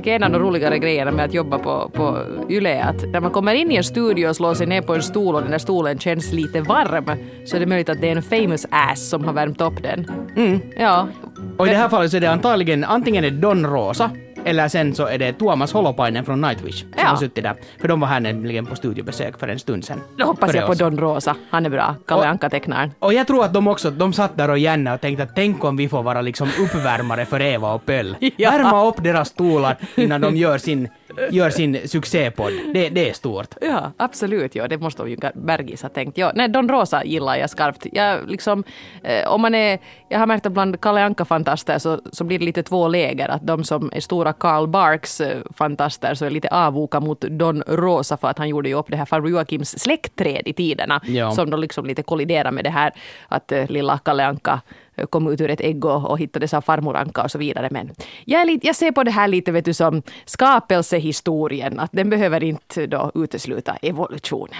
tycker en av de roligare grejerna med att jobba på Yle är att när man kommer in i en studio och slår sig ner på en stol och den där stolen känns lite varm, så är det möjligt att det är en famous ass som har värmt upp den. Ja. Och i det här fallet så är det antagligen antingen är Don Rosa eller sen så är det Tuomas Holopainen från Nightwish som har suttit där. För de var här nämligen på studiobesök för en stund sedan. Då hoppas jag på Don Rosa. Han är bra. Kalle Anka-tecknaren. Och jag tror att de satt där och gärna och tänkte att tänk om vi får vara liksom uppvärmare för Eva och Pöll. Ja. Värma upp deras stolar innan de gör sin succépodd. Det är stort. Ja, absolut. Ja, det måste de ju Bergis ha tänkt. Ja, nej, Don Rosa gillar jag skarpt. Jag liksom, jag har märkt att bland Kalle Anka-fantaster så blir det lite två läger. Att de som är stora Karl Barks-fantaster så är lite avvoka mot Don Rosa för att han gjorde ju upp det här farbror Joakims släktträd i tiderna. Ja. Som då liksom lite kolliderar med det här att lilla Kalle Anka kom ut ur ett ägg och hittades av farmor Anka och så vidare. Men jag ser på det här lite, vet du, som skapelsehistorien. Att den behöver inte då utesluta evolutionen.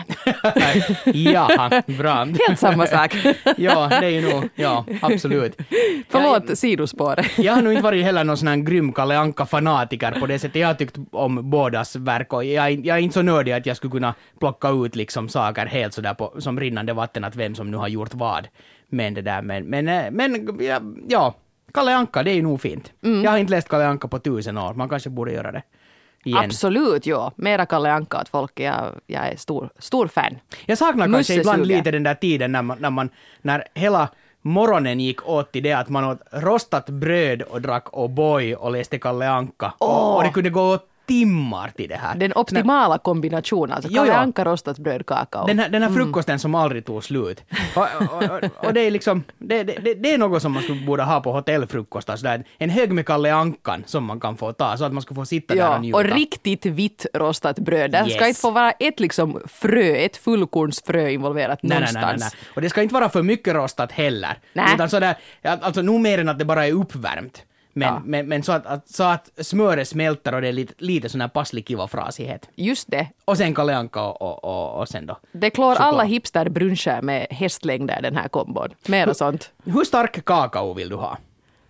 Ja, bra. Helt samma sak. Ja, det är ju nog, ja, absolut. Förlåt, sidospår. Jag har nog inte varit heller någon sån här grym Kalle Anka-fanatiker på det sättet. Jag har tyckt om bådas verk och jag är inte så nördig att jag skulle kunna plocka ut liksom saker helt sådär som rinnande vatten att vem som nu har gjort vad. Men det där, men ja, Kalle Anka, det är ju nog fint. Jag har inte läst Kalle Anka på 1000 år, man kanske borde göra det igen. Absolut, ja. Mera Kalle Anka åt folk, jag är stor fan. Jag saknar kanske ibland lite den där tiden när hela morgonen gick åt till det att man åt rostat bröd och drack O'boy och läste Kalle Anka. Och det kunde gå timmar till det här. Den optimala kombinationen, alltså Kalle Anka rostat bröd, kakao. Den här frukosten som aldrig tog slut. Och det är liksom, det är något som man skulle borde ha på hotellfrukost. Alltså en hög med Kalle Ankan som man kan få ta så att man ska få sitta där och njuta. Och riktigt vitt rostat bröd. Det ska inte få vara ett liksom ett fullkornsfrö involverat någonstans. Nej. Och det ska inte vara för mycket rostat heller. Nej. Utan sådär, alltså nog mer än att det bara är uppvärmt. Men så att smöret smälter och det är lite sån här passlig kiva frasighet. Just det. Och sen Kalle Anka och sen då. Det klår alla hipsterbruncher med hästlängder den här kombon. Mera sånt. Hur stark kakao vill du ha?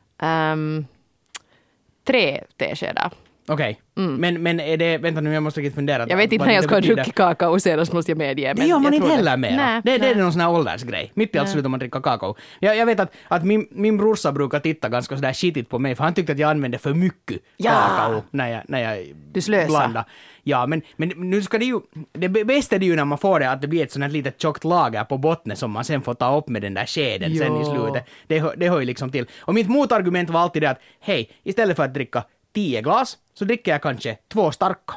3 teskedar. Okej. Men är det, vänta nu, jag måste riktigt fundera. Jag vet inte när jag ska ha druckit kakao senast, måste jag medge. Det gör man inte heller mer. Det är någon sån här åldersgrej. Mitt i allt slutar man dricka kakao. Jag vet att min brorsa brukar titta ganska sådär skitigt på mig, för han tyckte att jag använde för mycket kakao när jag du slösar. blandar. Ja, men nu ska det bästa är det ju när man får det att det blir ett sånt här litet tjockt lager på botten som man sen får ta upp med den där skeden sen i slutet. Det hör ju liksom till. Och mitt motargument var alltid det att hej, istället för att dricka 10 glas så dricker jag kanske 2 starka.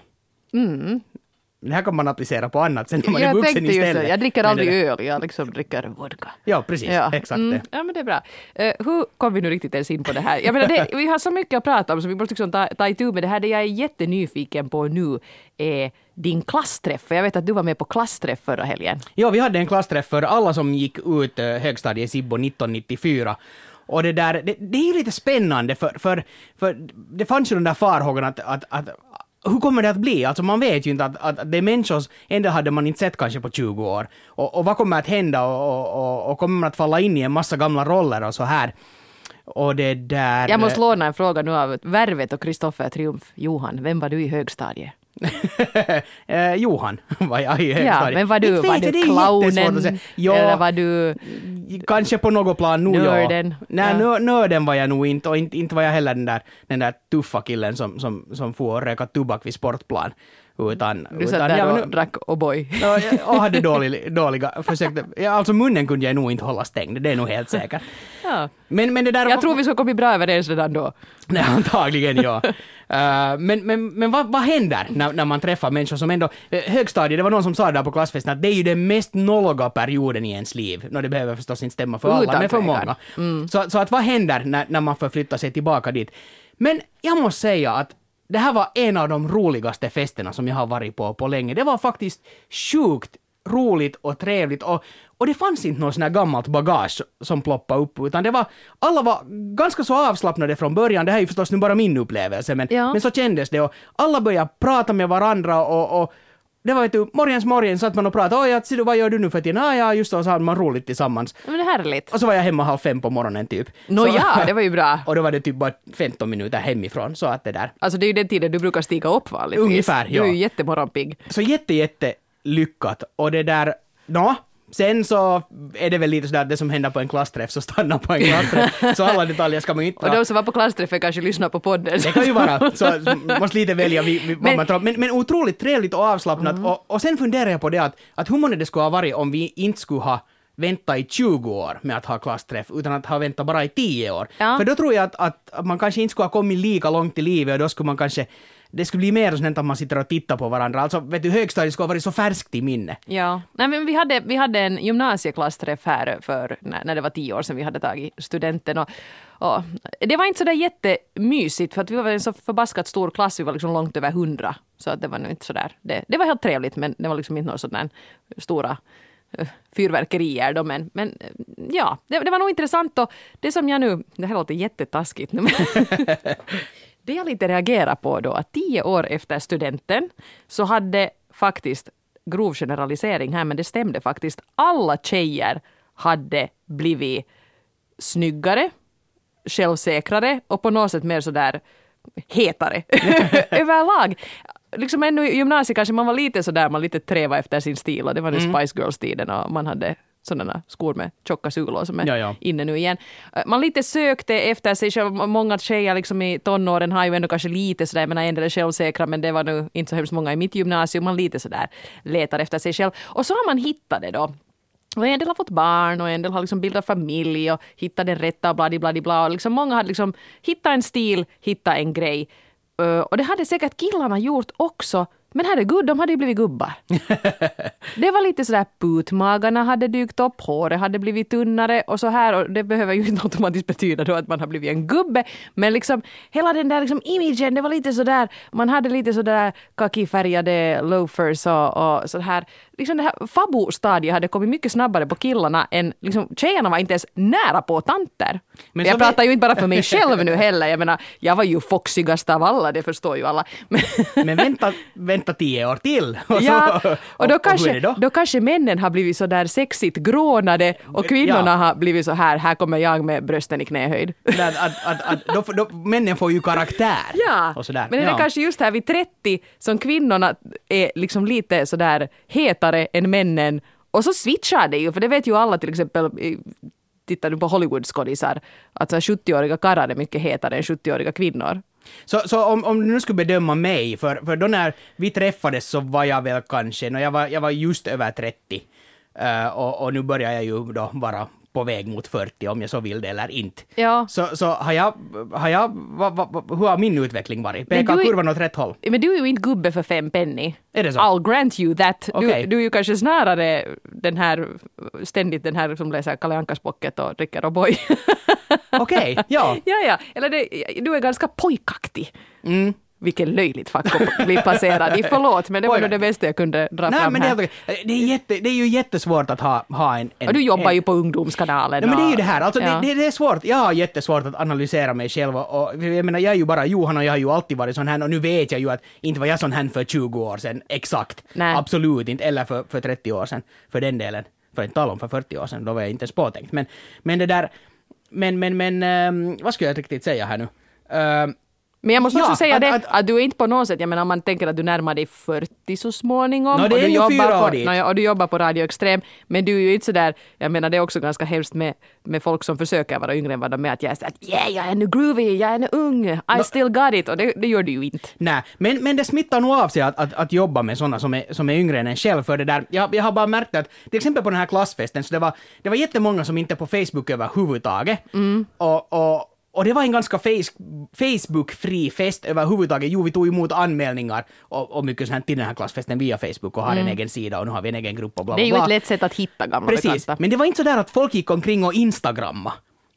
Det här kan man applicera på annat sen när man är vuxen istället. Jag dricker aldrig öl, jag liksom dricker vodka. Ja, precis. Exakt det. Ja, men det är bra. Hur kom vi nu riktigt ens in på det här? Jag menar, vi har så mycket att prata om så vi måste liksom ta itu med det här. Det jag är jättenyfiken på nu är din klassträff. Jag vet att du var med på klassträff förra helgen. Ja, vi hade en klassträff för alla som gick ut högstadiet Sibbo 1994. Och det är ju lite spännande för det fanns ju den där farhågan att hur kommer det att bli? Alltså man vet ju inte att det är människor, ändå hade man inte sett kanske på 20 år. Och vad kommer att hända och kommer man att falla in i en massa gamla roller och så här. Och det där... Jag måste låna en fråga nu av Värvet och Kristoffer Triumf. Johan, vem var du i högstadiet? Johan var jag i högstadiet. Ja, men var du clownen? Ja, eller var du kanske på något plan nog nörden? Nej, nörden var jag nog inte, och inte var jag heller den där tuffa killen som får röka tobak vid sportplan. Du satt där och drack O'boy. Och hade dåliga försökte. Alltså munnen kunde jag nog inte hålla stängd, det är nog helt säkert. Ja. Men det där jag tror vi ska komma bra överens redan då. Nej, antagligen, ja. Men vad händer när man träffar människor som ändå... högstadiet, det var någon som sa där på klassfesten att det är ju den mest nolliga perioden i ens liv. Det behöver förstås inte stämma för alla, men för många. Så att vad händer när man förflyttar sig tillbaka dit? Men jag måste säga att det här var en av de roligaste festerna som jag har varit på länge. Det var faktiskt sjukt roligt och trevligt och det fanns inte något sån här gammalt bagage som ploppade upp, utan alla var ganska så avslappnade från början. Det här är ju förstås nu bara min upplevelse, men så kändes det och alla började prata med varandra och det var ju morgon satt man och pratade. Oj, ser du, vad gör du nu för tiden? Ja, just så hade man roligt tillsammans. Men det är härligt. Och så var jag hemma 4:30 på morgonen typ. Ja, det var ju bra. Och då var det typ bara 15 minuter hemifrån, så att det där. Alltså det är ju den tiden du brukar stiga upp vanligtvis. Ungefär, ja. Du är ju jättemorgonpigg. Så jätte lyckat. Och det där, sen så är det väl lite sådär att det som händer på en klassträff så stannar på en klassträff. Så alla detaljer ska man inte Och de som var på klassträffen kanske lyssnar på podden. Det kan ju vara, så måste lite välja vad man tror. Men otroligt trevligt och avslappnat. Och sen funderar jag på det att hur många det skulle ha varit om vi inte skulle ha väntat i 20 år med att ha klassträff, utan att ha väntat bara i 10 år. Ja. För då tror jag att man kanske inte skulle ha kommit lika långt i livet, och då skulle man kanske, det skulle bli mer sånt att man sitter och tittar på varandra. Alltså, vet du, högstadiet skulle ha varit så färskt i minne. Ja, nej, men vi hade en gymnasieklassträff här för när det var 10 år sedan vi hade tagit studenten. Och det var inte så där jättemysigt, för att vi var en så förbaskat stor klass, vi var liksom långt över 100. Så att det var nog inte så där. Det var helt trevligt, men det var liksom inte några sådana stora fyrverkerier då, men ja, det var nog intressant. Och det som jag nu, det här låter jättetaskigt, men det jag lite reagerar på då, att 10 år efter studenten så hade faktiskt, grov generalisering här, men det stämde faktiskt, alla tjejer hade blivit snyggare, självsäkrare och på något sätt mer sådär hetare överlag. Liksom ännu i gymnasiet kanske man var lite sådär, man lite träva efter sin stil, och det var nu Spice Girls-tiden och man hade sådana skor med tjocka sulor som är inne nu igen. Man lite sökte efter sig själv. Många tjejer liksom i tonåren har ju ändå kanske lite sådär, jag menar, en del är självsäkra, men det var nu inte så hemskt många i mitt gymnasium. Man lite sådär letar efter sig själv. Och så har man hittat det då. Och en del har fått barn och en del har liksom bildat familj och hittat den rätta och bla. Och liksom många hade liksom hittat en stil, hittat en grej. Och det hade säkert killarna gjort också. Men herregud, de hade ju blivit gubbar. Det var lite sådär, putmagarna hade dykt upp, håret hade blivit tunnare och så här. Och det behöver ju inte automatiskt betyda då att man har blivit en gubbe. Men liksom hela den där liksom imagen, det var lite sådär, man hade lite sådär kakifärgade loafers och så här. Liksom det här fabo-stadiet hade kommit mycket snabbare på killarna än liksom, tjejerna var inte ens nära på tanter. Men jag pratar ju inte bara för mig själv nu heller. Jag menar, jag var ju foxigast av alla, det förstår ju alla. Men vänta 10 år till. Och då kanske männen har blivit så där sexigt grånade och kvinnorna har blivit så här kommer jag med brösten i knähöjd. Då männen får ju karaktär. Ja, och sådär. Men det är kanske just här vid 30 som kvinnorna är liksom lite så där hetare än männen. Och så switchar det ju, för det vet ju alla, till exempel tittar du på Hollywood-skådisar, att 70-åriga karlar är mycket hetare än 70-åriga kvinnor. Så om du nu skulle bedöma mig, för då när vi träffades så var jag väl kanske, jag var just över 30, och nu börjar jag ju då vara på väg mot 40 om jag så vill det eller inte. Ja. Så hur har min utveckling varit? Pekar kurvan åt rätt håll? Men du är ju inte gubbe för 5 penny. Är det så? I'll grant you that. Okay. Du är ju kanske snarare ständigt den här som läser Kalle Ankas pocket och dricker O'boy. Okej, ja. Ja. Eller du är ganska pojkaktig. Vilken löjligt fack att bli placerad i. Förlåt, men det var nog det bästa jag kunde dra fram men här. Det är ju jättesvårt att ha en... Och du jobbar ju på ungdomskanalen. Men det är ju det här. Alltså, det är svårt. Jag har jättesvårt att analysera mig själv. Och jag menar, jag är ju bara Johan och jag har ju alltid varit sån här. Och nu vet jag ju att inte var jag sån här för 20 år sedan. Exakt. Nej. Absolut inte. Eller för 30 år sedan. För den delen. För inte tala om för 40 år sedan. Då var jag inte ens påtänkt. Men det där... Men vad ska jag riktigt säga här nu? Men jag måste också säga att du är inte på något sätt, jag menar om man tänker att du närmar dig 40 så småningom det är ju 4 år dit. Och du jobbar på Radio Extrem, men du är ju inte så där, jag menar det är också ganska hemskt med folk som försöker vara yngre än vad de är, att jag är så att jag är nu groovy, jag är nu ung, I still got it, och det gör du ju inte. Nej, men det smittar nog av sig att jobba med sådana som är yngre än en själv, för det där, jag har bara märkt att till exempel på den här klassfesten så det var jättemånga som inte är på Facebook överhuvudtaget, och det var en ganska Facebook-fri fest överhuvudtaget. Jo, vi tog emot anmälningar och mycket sånt till den här klassfesten via Facebook och har en egen sida och nu har vi en egen grupp och bla bla bla. Det är ju ett lätt sätt att hitta gamla Precis, bekanta. men det var inte så där att folk gick omkring och instagramma.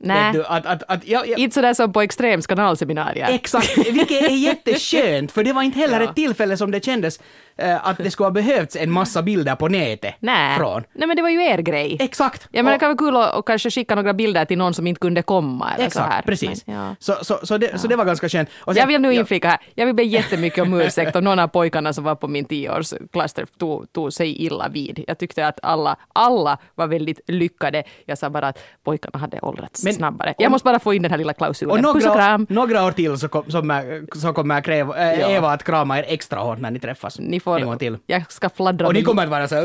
Nej, inte sådär som på Extrems kanalseminarier. Exakt, vilket är jätteskönt, för det var inte heller ett tillfälle som det kändes att det skulle ha behövts en massa bilder på nätet från. Nej, men det var ju er grej. Exakt. Ja, men det kan vara kul att kanske skicka några bilder till någon som inte kunde komma. Eller exakt, så här. precis. Men, ja. Så det var ganska skönt. Och sen, jag vill nu inflika här, jag vill be jättemycket om ursäkt om någon av pojkarna som var på min 10-årsklassträff tog sig illa vid. Jag tyckte att alla var väldigt lyckade. Jag sa bara att pojkarna hade åldrats snabbare. Jag måste bara få in den här lilla klausulen. Och puss och kram. Några år till så kommer jag kräva Eva att krama er extra hårt när ni träffas. Ni får, en gång till. Jag ska fladdra och ni kommer att vara så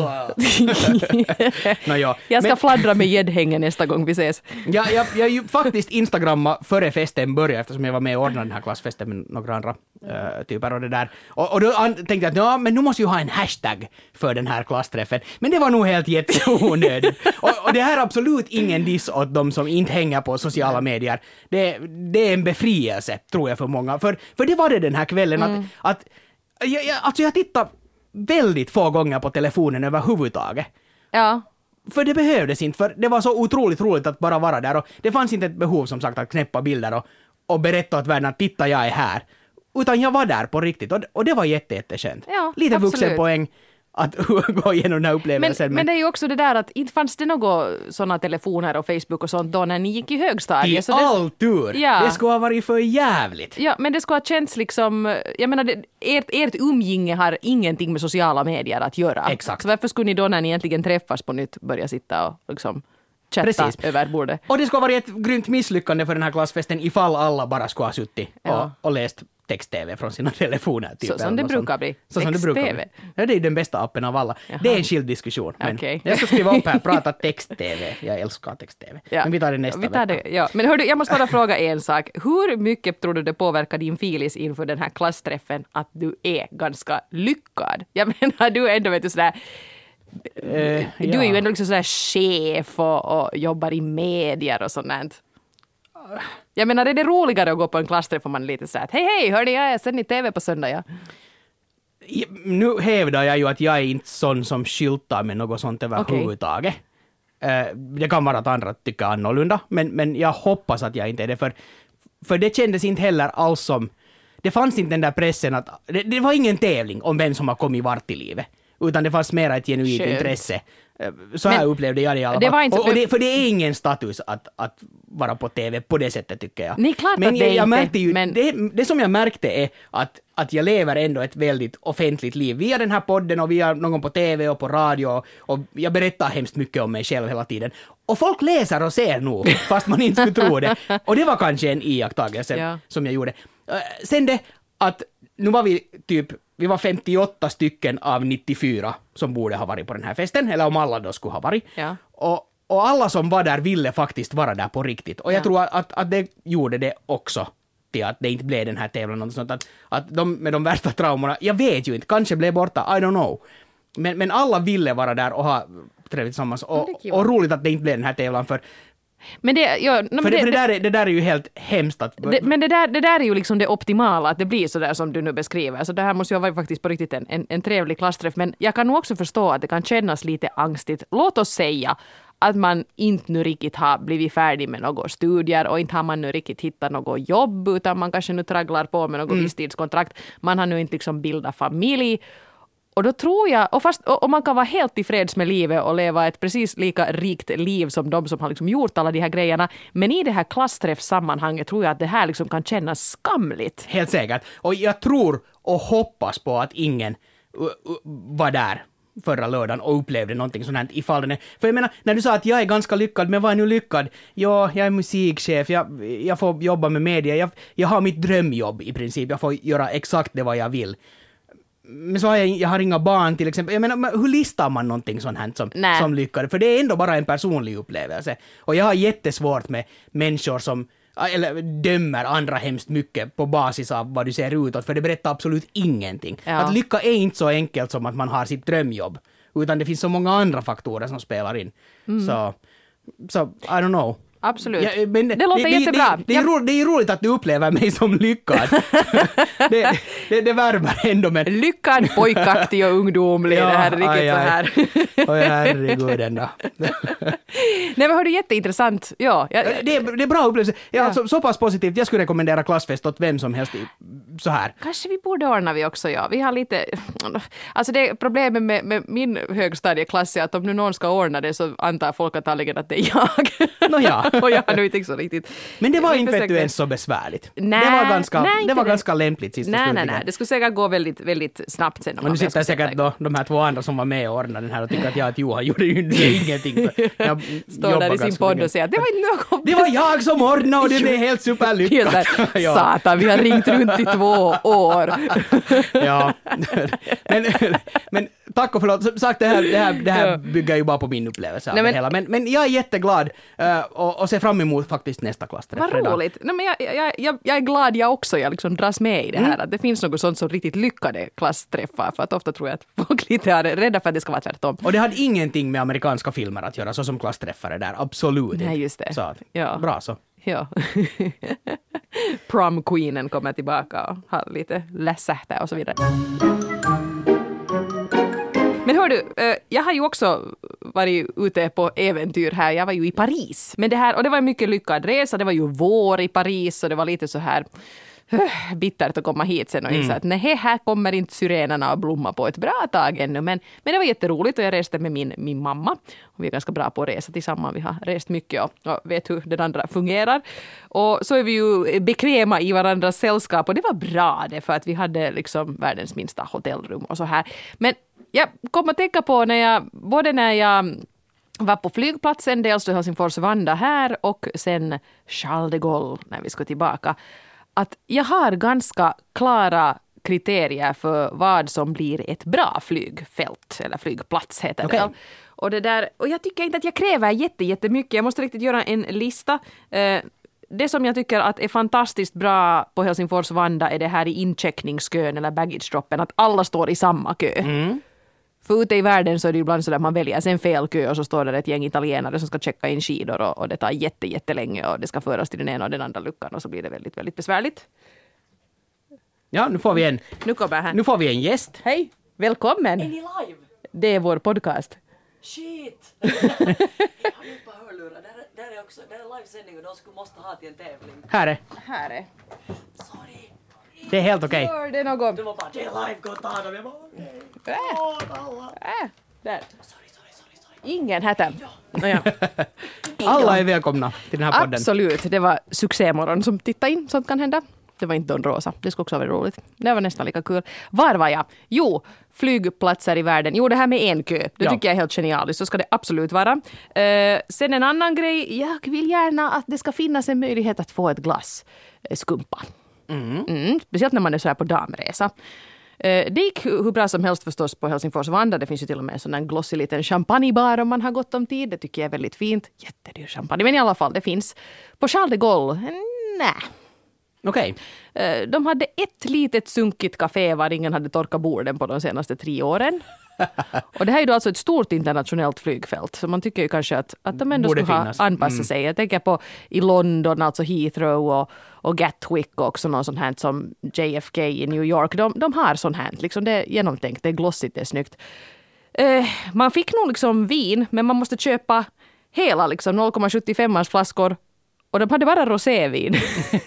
Jag ska fladdra med gäddhängen nästa gång vi ses. Jag ju faktiskt instagramma före festen började, eftersom jag var med och ordnade den här klassfesten med några andra typer och det där. Och då tänkte jag att men nu måste jag ha en hashtag för den här klassträffen. Men det var nog helt jätteonödigt. och det här är absolut ingen diss åt de som inte hänger på sociala medier. Det är en befrielse, tror jag, för många. För det var det den här kvällen att jag tittade väldigt få gånger på telefonen överhuvudtaget. Ja. För det behövdes inte, för det var så otroligt roligt att bara vara där och det fanns inte ett behov som sagt att knäppa bilder och berätta åt världen att titta, jag är här. Utan jag var där på riktigt och det var jätteskönt. Ja, lite absolut. Vuxenpoäng att gå igenom den här upplevelsen. Men det är ju också det där att inte fanns det några sådana telefoner och Facebook och sånt då när ni gick i högstadiet. I all tur! Ja. Det skulle ha varit för jävligt. Ja, men det skulle ha känts liksom, jag menar, ert umgänge har ingenting med sociala medier att göra. Exakt. Så varför skulle ni då när ni egentligen träffas på nytt börja sitta och liksom chatta över bordet? Och det skulle ha varit ett grymt misslyckande för den här klassfesten ifall alla bara skulle ha suttit och läst text-tv från sina telefoner. Typ, så som det brukar bli. Så som det brukar bli. Ja, det är den bästa appen av alla. Jaha. Det är en skild diskussion. Men Okay. jag ska skriva upp här, prata text-tv. Jag älskar text-tv. Ja. Men vi tar det nästa vecka. Ja. Men hördu, jag måste bara fråga en sak. Hur mycket tror du det påverkar din filis inför den här klassträffen att du är ganska lyckad? Jag menar, du är ändå, vet du, sådär... Du är ju ändå liksom sådär chef och jobbar i medier och sånt. Jag menar, är det roligare att gå på en klassträff om man är lite sådär att hej, hörde jag sen i tv på söndag, ja. Nu hävdar jag ju att jag är inte sån som skyltar med något sånt överhuvudtaget. Det kan vara att andra tycker annorlunda, men jag hoppas att jag inte är det, för det kändes inte heller alls som... Det fanns inte den där pressen att... Det var ingen tävling om vem som har kommit vart i livet, utan det fanns mera ett genuint intresse. Så här upplevde jag det i alla fall. För det är ingen status att vara på TV på det sättet, tycker jag. Nej, klart men att det jag märkte inte, ju, men... det som jag märkte är att jag lever ändå ett väldigt offentligt liv via den här podden och via någon på TV och på radio, och jag berättar hemskt mycket om mig själv hela tiden. Och folk läser och ser nog, fast man inte skulle tro det. Och det var kanske en iakttagelse som jag gjorde. Sen det att nu var vi var 58 stycken av 94 som borde ha varit på den här festen, eller om alla då skulle ha varit. Ja. Och alla som var där ville faktiskt vara där på riktigt. Och jag tror att det gjorde det också till att det inte blev den här tävlan. Och sånt, att de med de värsta traumorna, jag vet ju inte, kanske blev borta, I don't know. Men alla ville vara där och ha trevligt tillsammans. Och roligt att det inte blev den här tävlan, för Men det där är ju helt hemskt att... Men det där är ju liksom det optimala, att det blir så där som du nu beskriver. Så det här måste ju vara faktiskt på riktigt en trevlig klassträff. Men jag kan nog också förstå att det kan kännas lite angstigt. Låt oss säga att man inte nu riktigt har blivit färdig med några studier och inte har man nu riktigt hittat något jobb, utan man kanske nu tragglar på med något visstidskontrakt. Man har nu inte liksom bildat familj. Och då tror jag, och man kan vara helt tillfreds med livet och leva ett precis lika rikt liv som de som har liksom gjort alla de här grejerna. Men i det här klassträffsammanhanget tror jag att det här liksom kan kännas skamligt. Helt säkert. Och jag tror och hoppas på att ingen var där förra lördagen och upplevde någonting sånt här ifall den är. För jag menar, när du sa att jag är ganska lyckad, men vad är nu lyckad? Ja, jag är musikchef, jag får jobba med media, jag har mitt drömjobb i princip, jag får göra exakt det vad jag vill. Men så jag har inga barn till exempel. Jag menar, hur listar man någonting sånt här som lyckad? För det är ändå bara en personlig upplevelse. Och jag har jättesvårt med människor som dömer andra hemskt mycket på basis av vad du ser utåt, för det berättar absolut ingenting. Ja. Att lycka är inte så enkelt som att man har sitt drömjobb, utan det finns så många andra faktorer som spelar in. Så I don't know. Absolut. Ja, men det låter jättebra. Det är ju roligt att du upplever mig som lyckad. det värmer ändå. Men... Lyckad, pojkaktig och ungdomlig. Det här är riktigt så här. Oj, herregud ändå. Nej, men hör du, jätteintressant. Ja, Det är bra upplevelse. Alltså, så pass positivt. Jag skulle rekommendera klassfest åt vem som helst så här. Kanske vi borde ordna vi också, ja. Vi har lite... Alltså det problemet med min högstadieklass är att om nu någon ska ordna det så antar folk antagligen att det är jag. Ja. Och jag har nu inte så riktigt... Men det var inte ens så besvärligt. Det var ganska lämpligt sista slutligen. Nej. Det skulle säkert gå väldigt, väldigt snabbt sen. Och nu sitter säkert då de här två andra som var med och ordnade den här och tycker att jag och Johan gjorde ju ingenting. Jag står där i sin podd och säger att det var inte något. Det var jag som ordnade och det blev helt superlyckat. Satan, vi har ringt runt i 2 år. Ja, men tack och förlåt. Som sagt, det här bygger ju bara på min upplevelse av det hela. Men jag är jätteglad och ser fram emot faktiskt nästa klassträff. Vad roligt. Nej, men jag är glad jag också. Jag liksom dras med i det här. Att det finns något sånt som riktigt lyckade klassträffar. För att ofta tror jag att folk lite är rädda för att det ska vara tvärtom. Och det hade ingenting med amerikanska filmer att göra, så som klassträffare där. Absolut inte. Nej, just det. Så, ja. Bra så. Ja. Prom-queenen kommer tillbaka och har lite lässähtä och så vidare. Men hör du, jag har ju också varit ute på äventyr här. Jag var ju i Paris. Men och det var en mycket lyckad resa. Det var ju vår i Paris och det var lite så här bittert att komma hit sen och inse att nej, här kommer inte syrenerna att blomma på ett bra tag ännu. Men det var jätteroligt och jag reste med min mamma. Och vi är ganska bra på att resa tillsammans. Vi har rest mycket och vet hur den andra fungerar. Och så är vi ju bekväma i varandras sällskap och det var bra det för att vi hade liksom världens minsta hotellrum och så här. Men jag kom att tänka på när jag var på flygplatsen, dels till Helsingfors Vanda här och sen Charles de Gaulle när vi ska tillbaka. Att jag har ganska klara kriterier för vad som blir ett bra flygfält eller flygplats heter det. Och jag tycker inte att jag kräver jättemycket. Jag måste riktigt göra en lista. Det som jag tycker att är fantastiskt bra på Helsingfors Vanda är det här i incheckningskön eller baggage-droppen, att alla står i samma kö. För ute i världen så är det ibland så att man väljer en fel kö och så står det ett gäng italienare som ska checka in skidor och det tar jättelänge och det ska föras till den ena och den andra luckan och så blir det väldigt, väldigt besvärligt. Ja, nu får vi en gäst. Hej, välkommen. Är ni live? Det är vår podcast. Shit! Jag har inte bara hörlurar. Det är livesändning och de måste ha till en tävling. Här är. Sorry. Det är helt okej. Gör det något? Det var bara, det är live, gå och ta dem. Jag bara, okej. Där. Sorry. Ingen här. Ja. Alla är välkomna till den här podden. Absolut, det var succémorgon som tittade in, sånt kan hända. Det var inte Don Rosa, det skulle också vara roligt. Det var nästan lika kul. Var var jag? Jo, flygplatser i världen. Jo, det här med en kö, det tycker jag är helt genialiskt. Så ska det absolut vara. Sen en annan grej, jag vill gärna att det ska finnas en möjlighet att få ett glas skumpa. Speciellt när man är så här på damresa. Det gick hur bra som helst förstås på Helsingfors Vanda. Det finns ju till och med en sån där glossig liten champagnebar om man har gott om tid. Det tycker jag är väldigt fint. Jättedyr champagne, men i alla fall, det finns. På Charles de Gaulle, nej. Okej. De hade ett litet sunkigt café var ingen hade torkat borden på de senaste 3 åren. Och det här är då alltså ett stort internationellt flygfält. Så man tycker ju kanske att de ändå skulle ha anpassat sig. Jag tänker på i London, alltså Heathrow och Gatwick och också någon sån här som JFK i New York. De har sån här, liksom det är genomtänkt, det är glossigt, det är snyggt. Man fick nog liksom vin, men man måste köpa hela liksom 0,75 flaskor. Och de hade bara rosévin.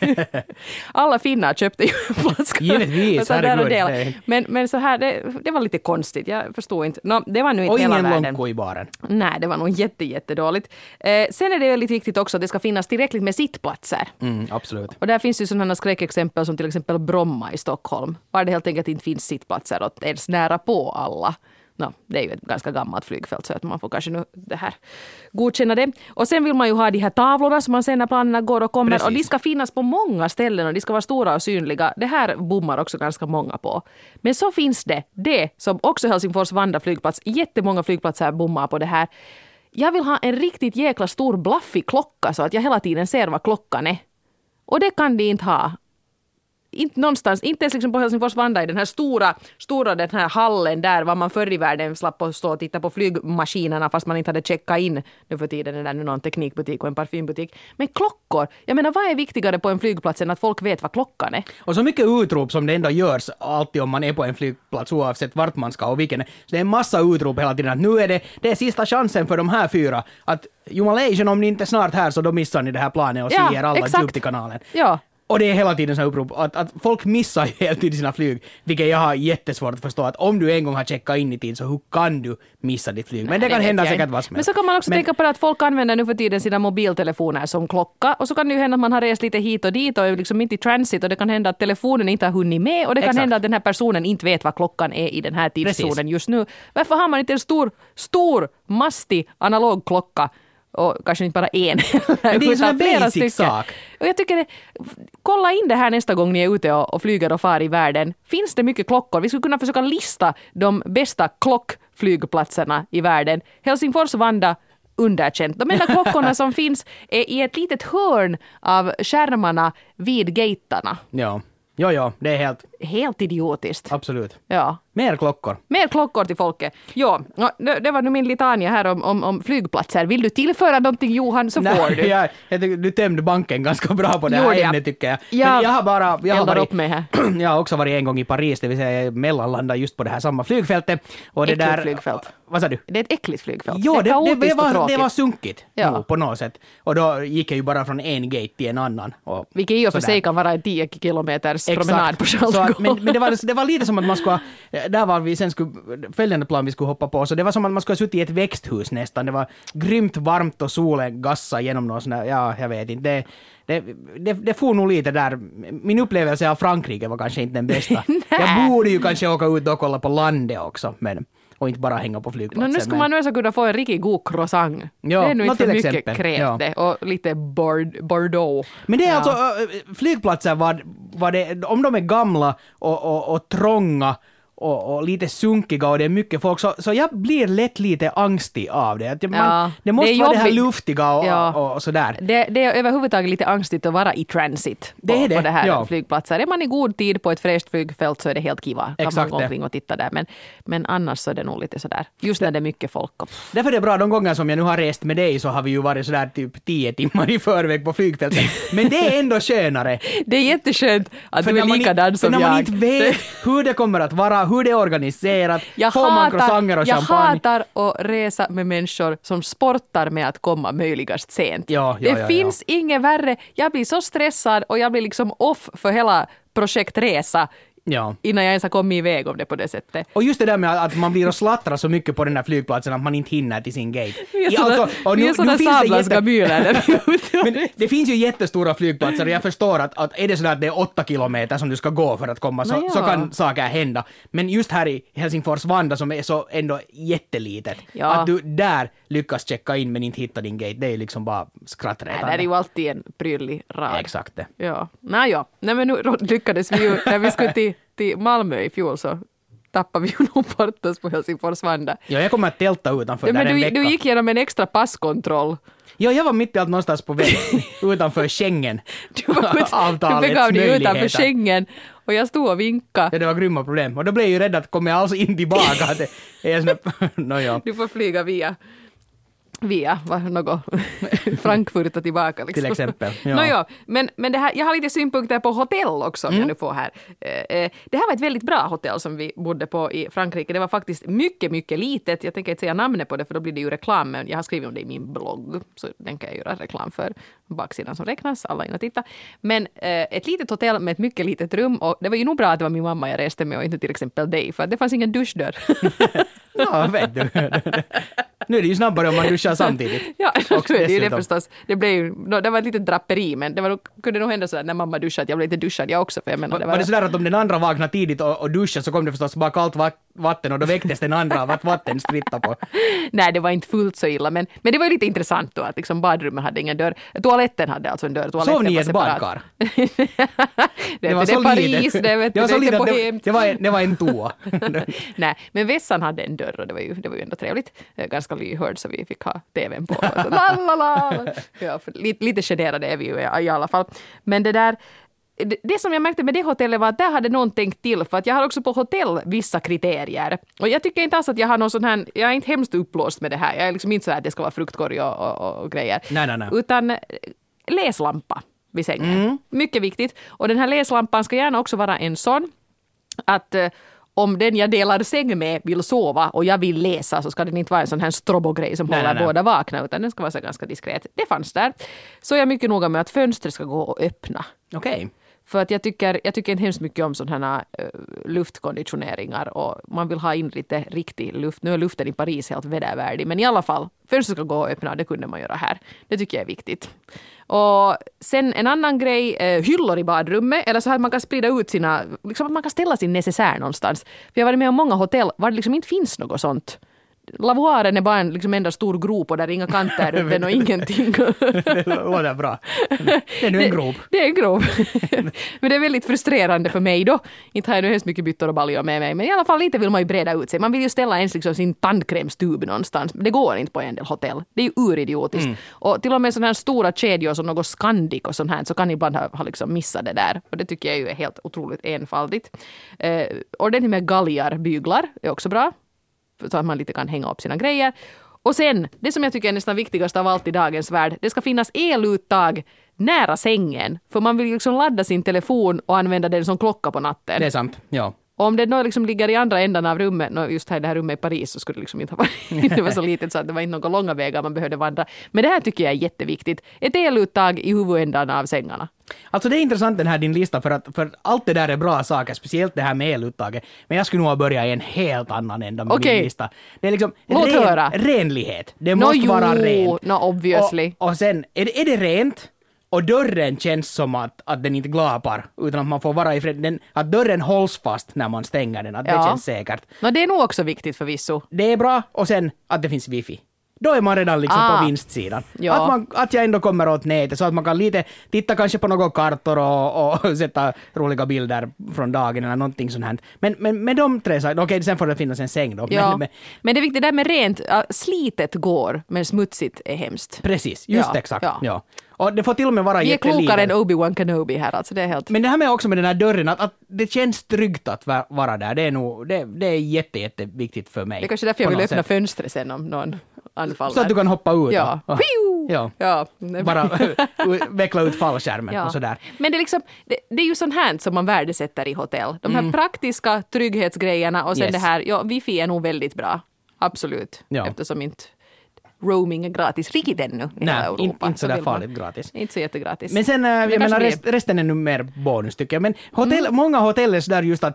Alla finnar köpte ju en flaska. Givetvis, herregud. Men så här, det var lite konstigt. Jag förstår inte. Det var nu inte och hela ingen världen. lonko i baren. Nej, det var nog jättedåligt. Sen är det väldigt viktigt också att det ska finnas tillräckligt med sittplatser. Absolut. Och där finns ju sådana skräckexempel som till exempel Bromma i Stockholm. Var det helt enkelt inte finns sittplatser och ens nära på alla. Det är ju ett ganska gammalt flygfält så att man får kanske nu det här godkänna det. Och sen vill man ju ha de här tavlorna som man ser när planerna går och kommer. Precis. Och de ska finnas på många ställen och de ska vara stora och synliga. Det här bommar också ganska många på. Men så finns det som också Helsingfors Vanda flygplats, jättemånga flygplatser bommar på det här. Jag vill ha en riktigt jäkla stor blaffig klocka så att jag hela tiden ser vad klockan är. Och det kan de inte ha. inte någonstans, inte ens liksom på Helsingfors Vanda i den här stora den här hallen där var man förr i världen slapp att stå och titta på flygmaskinerna fast man inte hade checkat in. Nu för tiden är det nu någon teknikbutik och en parfymbutik. Men klockor, jag menar vad är viktigare på en flygplats än att folk vet vad klockan är? Och så mycket utrop som det ändå görs alltid om man är på en flygplats oavsett vart man ska och vilken. Så det är en massa utrop hela tiden att nu är det är sista chansen för de här 4 att Jumalation, om ni inte är snart här så då missar ni det här planet och ser alla upp till kanalen. Ja. Och det är hela tiden så här upprop att folk missar ju hela tiden sina flyg, vilket jag har jättesvårt att förstå att om du en gång har checkat in i tid så hur kan du missa ditt flyg? Men det kan hända säkert vad som helst. Men så kan man också tänka på att folk använder nu för tiden sina mobiltelefoner som klocka och så kan det ju hända att man har rest lite hit och dit och är liksom inte i transit och det kan hända att telefonen inte har hunnit med och det kan hända att den här personen inte vet vad klockan är i den här tidszonen just nu. Varför har man inte en stor mastig analog klocka? Och kanske inte bara en. Men det är en basic sak. Och jag tycker, kolla in det här nästa gång ni är ute och flyger och far i världen. Finns det mycket klockor? Vi skulle kunna försöka lista de bästa klockflygplatserna i världen. Helsingfors Vanda, underkänt. De enda klockorna som finns är i ett litet hörn av skärmarna vid gaterna. Ja, det är helt idiotiskt. Absolut. Ja. Mer klockor till folket. Ja, det var nu min litania här om flygplatser. Vill du tillföra någonting, Johan, så får du. Jag tycker du tömde banken ganska bra på det här ämnet, tycker jag. Men jag har varit upp med här. Jag har också varit en gång i Paris, det vill säga jag mellanlandade just på det här samma flygfältet. Och äckligt flygfält. Vad sa du? Det är ett äckligt flygfält. Ja, det var var sunkigt på något sätt. Och då gick jag ju bara från en gate till en annan. Vilket i och för sig kan vara en 10 kilometers promenad på Charles. Men det var lite som att man skulle, där var vi sen följande plan vi skulle hoppa på, så det var som att man skulle ha suttit i ett växthus nästan. Det var grymt varmt och solen gassade genom någon sån här, jag vet inte. Det får nog lite där. Min upplevelse av Frankrike var kanske inte den bästa. Jag borde ju kanske åka ut och kolla på landet också, och inte bara hänga på flygplatsen. Nu skulle man nu så kunna få en riktigt god croissant. Ja, det är nu inte för mycket exempel. krävt det. Och lite Bordeaux. Men det är alltså flygplatser, var det, om de är gamla och trånga och lite sunkiga och det är mycket folk, så jag blir lätt lite angstig av det. Det måste vara det här luftiga och sådär. Det är överhuvudtaget lite angstigt att vara i transit på det här flygplatser. Är man i god tid på ett fräscht flygfält så är det helt kiva. Kan man gå omkring och titta där. Men annars så är det nog lite sådär. Just när det är mycket folk. Därför är det bra, de gånger som jag nu har rest med dig så har vi ju varit sådär typ 10 timmar i förväg på flygfältet. Men det är ändå skönare. Det är jätteskönt att du är likadan som jag. När man inte vet hur det kommer att vara, hur det är organiserat, får man croissanter och champagne. Jag hatar att resa med människor som sportar med att komma möjligast sent. Det finns inget värre. Jag blir så stressad och jag blir liksom off för hela projektresa. Innan jag ens har kommit iväg om det på det sättet. Och just det där med att man blir och slattrar så mycket på den här flygplatsen att man inte hinner till sin gate. Vi är sådana sablaska mylar. Men det finns ju jättestora flygplatser och jag förstår att är det sådär att det är 8 kilometer som du ska gå för att komma så kan saker hända. Men just här i Helsingfors Vanda som är så ändå jättelitet, att du där lyckas checka in men inte hitta din gate, det är liksom bara skrattretande. Det är ju alltid en pryllig rad. Exakt det. Ja. Nej men nu lyckades vi ju när vi skulle till Malmö i fjol så tappade vi ju nog bort oss på Helsingfors Vanda. Ja, jag kommer att tälta utanför där en vecka. Du gick igenom en extra passkontroll. Ja, jag var mitt i allt någonstans på väg utanför Schengen. Du begav dig utanför Schengen och jag stod och vinkade. Ja, det var grymma problem. Och då blev jag ju rädd att kommer jag alltså in tillbaka. Du får flyga via något Frankfurt och tillbaka. Liksom. Till exempel. Men det här, jag har lite synpunkter på hotell också om jag nu får här. Det här var ett väldigt bra hotell som vi bodde på i Frankrike. Det var faktiskt mycket, mycket litet. Jag tänker inte säga namnet på det för då blir det ju reklam. Men jag har skrivit om det i min blogg. Så den kan jag göra reklam för. Baksidan som räknas, alla in och titta. Men ett litet hotell med ett mycket litet rum. Och det var ju nog bra att det var min mamma jag reste med och inte till exempel dig. För det fanns ingen duschdörr. Ja, vet du. Nu är det ju snabbare om man duschar samtidigt. Ja, det är ju det förstås. Det var ett litet draperi, men kunde nog hända så att när mamma duschade att jag blev lite duschad jag också. För jag menar, var det sådär att om den andra vaknade tidigt och duschade så kom det förstås bara kallt vatten och då väcktes den andra av att vatten sprittade på? Nej, det var inte fullt så illa, men det var ju lite intressant då att liksom badrummet hade ingen dörr. Toaletten hade alltså en dörr. Sov ni i ett badkar? det var Paris, det vet du, det var en toa. Nej, men vässan hade en dörr och det var ju ändå trevligt. Ganska lyhörd så vi fick ha tvn på. Ja, lite generade är vi ju i alla fall. Men det där, det som jag märkte med det hotellet var att där hade någon tänkt till, för att jag har också på hotell vissa kriterier. Och jag tycker inte alls att jag har någon sån här, jag är inte hemskt upplåst med det här. Jag är liksom inte så att det ska vara fruktkorg och grejer. Nej. Utan läslampa vid sängen. Mycket viktigt. Och den här läslampan ska gärna också vara en sån att om den jag delar säng med vill sova och jag vill läsa, så ska den inte vara en sån här strobogrej som håller båda vakna, utan den ska vara så ganska diskret. Det fanns där. Så jag är mycket noga med att fönstret ska gå och öppna. Okej. För att jag tycker inte hemskt mycket om sådana här luftkonditioneringar, och man vill ha in lite riktig luft. Nu är luften i Paris helt vedervärdig, men i alla fall, fönstret ska gå och öppna, det kunde man göra här. Det tycker jag är viktigt. Och sen en annan grej, hyllor i badrummet, eller så att man kan sprida ut sina, liksom att man kan ställa sin necessär någonstans. För jag har varit med om många hotell var det liksom inte finns något sånt. Lavoaren är bara en liksom enda stor grop och där är inga kanter runt den och ingenting. Det låter bra. Det är nu en grop. Det är en grop. Men det är väldigt frustrerande för mig då. Inte har jag nu hemskt mycket byttor och baljor med mig. Men i alla fall lite vill man ju breda ut sig. Man vill ju ställa ens liksom sin tandkrämstub någonstans. Det går inte på en del hotell. Det är ju uridiotiskt. Och till och med sådana här stora kedjor som något Scandic och sånt här, så kan ibland ha liksom missat det där. Och det tycker jag ju är helt otroligt enfaldigt. Ordentligt med galgar, byglar är också bra. Så att man lite kan hänga upp sina grejer. Och sen, det som jag tycker är nästan viktigast av allt i dagens värld, det ska finnas eluttag nära sängen. För man vill liksom ladda sin telefon och använda den som klocka på natten. Det är sant, ja. Och om det då liksom ligger i andra ändan av rummet, just här i det här rummet i Paris, så skulle det liksom inte ha varit, det var så litet så att det var inte några långa vägar man behövde vandra. Men det här tycker jag är jätteviktigt. Ett eluttag i huvudändan av sängarna. Alltså det är intressant den här din lista, för allt det där är bra saker, speciellt det här med eluttaget. Men jag skulle nog ha börjat i en helt annan ända med min lista. Det är liksom renlighet. Det måste vara rent. Obviously. Och sen, är det rent och dörren känns som att den inte glapar, utan att man får vara i fred, att dörren hålls fast när man stänger den, att det känns säkert. Det är nog också viktigt förvisso. Det är bra, och sen att det finns wifi. Då är man redan liksom på vinstsidan. Ja. Att jag ändå kommer åt nätet så att man kan lite titta kanske på några kartor och sätta roliga bilder från dagen eller någonting sånt här. Men med de tre sakerna, okej, sen får det finnas en säng då. Ja. Men det är viktigt där med rent, slitet går, men smutsigt är hemskt. Precis, just exakt. Ja. Och det får till och med vara jättelivet. Vi är klokare än Obi-Wan Kenobi här, alltså det är helt... Men det här med också med den här dörren, att det känns tryggt att vara där, det är jätteviktigt för mig. Det är kanske därför jag vill öppna fönstret sen om någon anfaller. Så att du kan hoppa ut. Ja. Ja. Bara veckla ut fallskärmen och sådär. Men det är liksom, det är ju sånt här som man värdesätter i hotell. De här praktiska trygghetsgrejerna och sen det här, wifi är nog väldigt bra. Absolut. Ja. Eftersom inte roaming är gratis riktigt ännu. Nej, inte så där farligt gratis. Inte så jättegratis. Men sen, jag menar, resten är nu mer bonus tycker jag. Men många hotell är där just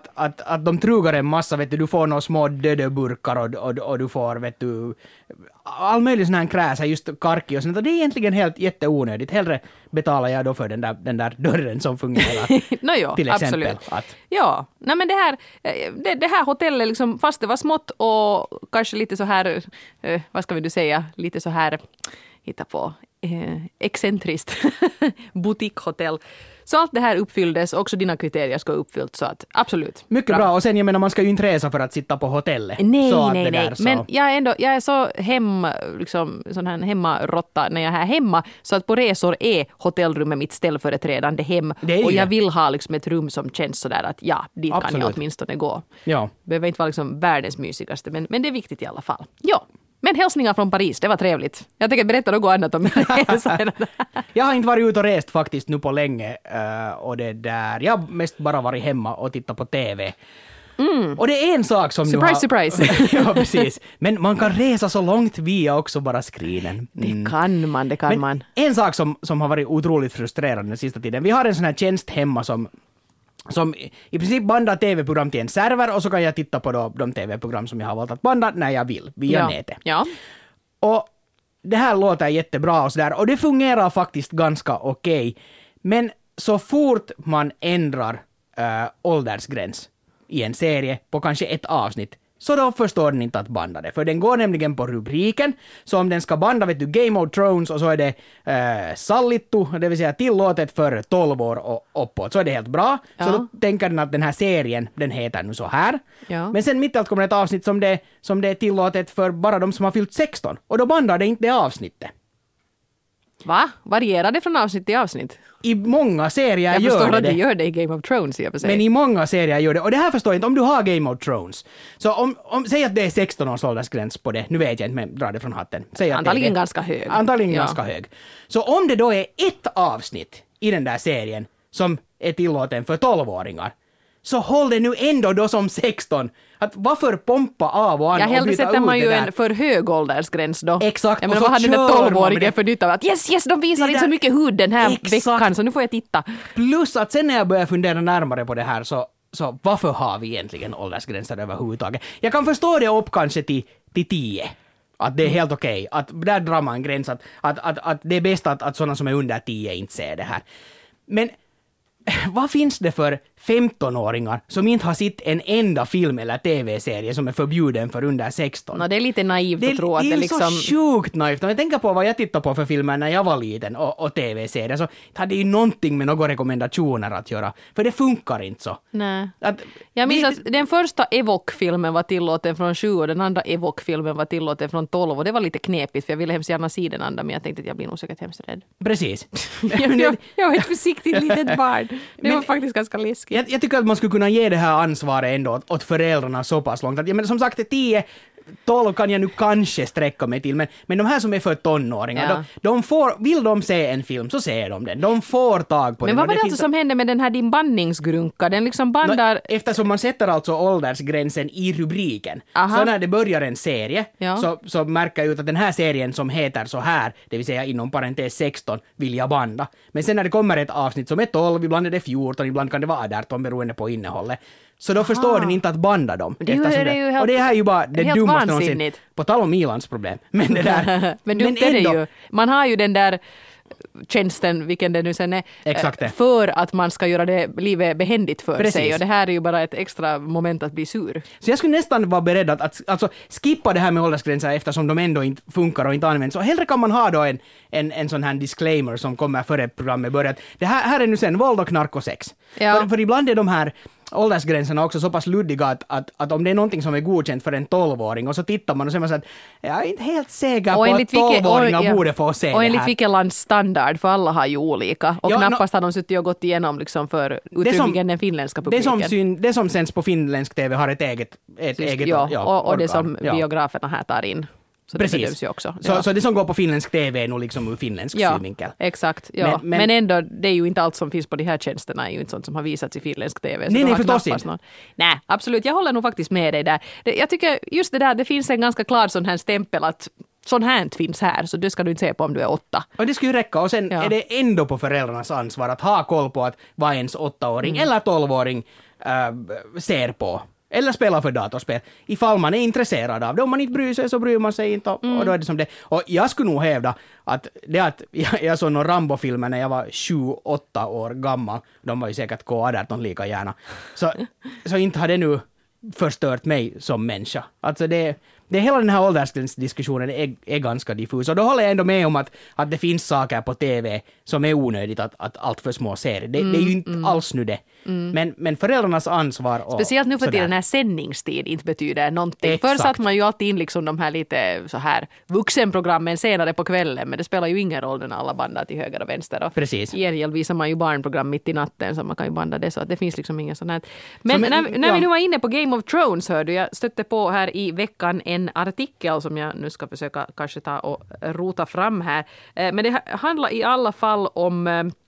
att de trugar en massa, vet du får några små dödeburkar och du får, vet du, all möjlig sån här kräsa, just karki och sånt. Och det är egentligen helt jätteonödigt. Hellre betalar jag då för den där dörren som fungerar. Till exempel. Absolut. Ja, nej men det här hotellet liksom, fast det var smått och kanske lite så här, vad ska vi säga, lite så här, hitta på, excentriskt boutiquehotell. Så allt det här uppfylldes, också dina kriterier ska uppfyllt, så att absolut. Mycket bra. Och sen jag menar, man ska ju inte resa för att sitta på hotellet. Nej. Men jag är så sån här hemmarotta när jag är hemma, så att på resor är hotellrummet mitt ställföreträdande hem. Och jag vill ha liksom ett rum som känns sådär att dit kan jag åtminstone gå. Ja. Behöver inte vara liksom världens mysigaste, men det är viktigt i alla fall. Ja. Men hälsningar från Paris, det var trevligt. Jag tänker berätta något annat om resan. Jag har inte varit ute och rest faktiskt nu på länge. Och det där, jag har mest bara varit hemma och tittat på TV. Och det är en sak som surprise. Ja, precis. Men man kan resa så långt via också bara screenen. Det kan man. En sak som har varit otroligt frustrerande den sista tiden. Vi har en sån här tjänst hemma som i princip bandar tv-program till en server, och så kan jag titta på de tv-program som jag har valt att banda när jag vill, via nätet. Ja. Och det här låter jättebra och sådär, och det fungerar faktiskt ganska okej. Men så fort man ändrar åldersgräns i en serie på kanske ett avsnitt, så då förstår den inte att banda det. För den går nämligen på rubriken. Så om den ska banda, vet du, Game of Thrones, och så är det sallittu, det vill säga tillåtet för 12 år och uppåt, så är det helt bra. Ja. Så då tänker den att den här serien, den heter nu så här. Ja. Men sen mitt i allt kommer ett avsnitt som det är tillåtet för bara de som har fyllt 16. Och då bandar det inte det avsnittet. Va? Varierar det från avsnitt till avsnitt? I många serier Jag gör förstår att det. det gör det i Game of Thrones i och för sig. Men i många serier gör det. Och det här förstår jag inte. Om du har Game of Thrones. Så säg att det är 16 års åldersgräns på det. Nu vet jag inte, men dra det från hatten. Säg att Antagligen det är ganska hög. Antagligen Ja. ganska hög. Så om det då är ett avsnitt i den där serien som är tillåten för 12-åringar, så håll det nu ändå då som 16. Att varför pompa av och an Ja, och hellre byta sätter ut man ju det där? en för hög åldersgräns då. Exakt, Jag och menar, så vad hade den kör man 12-åringen med det. för nytta av att yes, de visar Det inte så där- mycket hud den här Exakt. veckan, så nu får jag titta. Plus att sen när jag börjar fundera närmare på det här så varför har vi egentligen åldersgränser överhuvudtaget? Jag kan förstå det upp kanske till 10. Att det är helt okej. Att där drar man en gräns. Att det är bäst att sådana som är under 10 inte ser det här. Men vad finns det för 15-åringar som inte har sett en enda film eller tv-serie som är förbjuden för under 16? No, det är lite naivt att tro att det det är liksom... så sjukt naivt. Om jag tänker på vad jag tittade på för filmer när jag var liten och tv-serier, så hade ju någonting med några rekommendationer att göra. För det funkar inte så. Nej. Att, Jag minns det- att den första Evoque-filmen var tillåten från 7 och den andra Evoque-filmen var tillåten från 12 och det var lite knepigt för jag ville hemskt gärna se den andra men jag tänkte att jag blir nog säkert hemskt rädd. Precis. Jag var ett försiktigt litet barn. Det var faktiskt ganska läskigt. Jag tycker att man skulle kunna ge det här ansvaret ändå åt föräldrarna så pass långt. Att, ja, men som sagt, 10-12 kan jag nu kanske sträcka mig till, men de här som är för tonåringar, Ja. de får, vill de se en film så ser de den. De får tag på Men den. vad och var det finns- alltså som hände med den här din bandningsgrunka? Den liksom bandar... Eftersom man sätter alltså åldersgränsen i rubriken. Aha. Så när det börjar en serie Ja. så märker jag ut att den här serien som heter så här, det vill säga inom parentes 16, vill jag banda. Men sen när det kommer ett avsnitt som är 12, ibland är det 14, ibland kan det vara 18 beroende på innehållet. Så då förstår den inte att banda dem. Det är ju- eftersom det är ju helt- och det här är ju bara det helt dummaste någonsin. vansinnigt. På tal om Ilans problem. Men det där... Men dumt är det ju. Man har ju den där tjänsten, vilken det nu sen är, Exakt det. för att man ska göra det livet behändigt för Precis. sig. Och det här är ju bara ett extra moment att bli sur. Så jag skulle nästan vara beredd att alltså, skippa det här med åldersgränser eftersom de ändå inte funkar och inte används. Så hellre kan man ha då en sån här disclaimer som kommer före programmet börjar. Det här är nu sen våld och knark och sex. Ja. För ibland är de här åldersgränserna också så pass luddiga att om det är någonting som är godkänt för en 12-åring och så tittar man och så är man så att jag är inte helt säker på att 12-åringar borde få se och det enligt här. vilket lands standard, för alla har ju olika. Och Ja, knappast har de suttit och gått igenom liksom för uttryckligen den finländska publiken. Det som sänds på finländsk TV har ett eget Ja, och det organ. som Ja. biograferna här tar in. Så det bedöms ju också. Så det som går på finländsk TV är nog liksom ur finländsk synvinkel. Exakt. Ja. Men- Men ändå, det är ju inte allt som finns på de här tjänsterna är ju inte sånt som har visats i finländsk TV. Så Nej, då har förstås knappast inte. Nej, absolut. Jag håller nog faktiskt med dig där. Jag tycker just det där, det finns en ganska klar sån här stämpel att sån här inte finns här, så det ska du inte se på om du är 8. Och det skulle ju räcka. Och sen Ja. är det ändå på föräldrarnas ansvar att ha koll på att vad ens 8-åring eller 12-åring ser på. Eller spelar för datorspel. Ifall man är intresserad av det. Om man inte bryr sig så bryr man sig inte. Och då är det som det. Och jag skulle nog hävda att det att jag såg några Rambo-filmer när jag var 7-8 år gammal. De var ju säkert K18 lika gärna. Så inte har det nu förstört mig som människa. Alltså det hela den här åldersgränsdiskussionen är ganska diffus. Och då håller jag ändå med om att det finns saker på TV som är onödigt att allt för små ser. Det är ju inte alls nu det. Men föräldrarnas ansvar och Speciellt nu för sådär. tiden när sändningstid inte betyder någonting. Exakt. Förr satt man ju alltid in liksom de här lite så här vuxenprogrammen senare på kvällen, men det spelar ju ingen roll när alla bandar till höger och vänster. Och Precis. i gengäld visar man ju barnprogram mitt i natten så man kan ju banda det så att det finns liksom ingen sån här. Men Så, när ja. vi nu var inne på Game of Thrones hörde jag stötte på här i veckan en artikel som jag nu ska försöka kanske ta och rota fram här. Men det handlar i alla fall om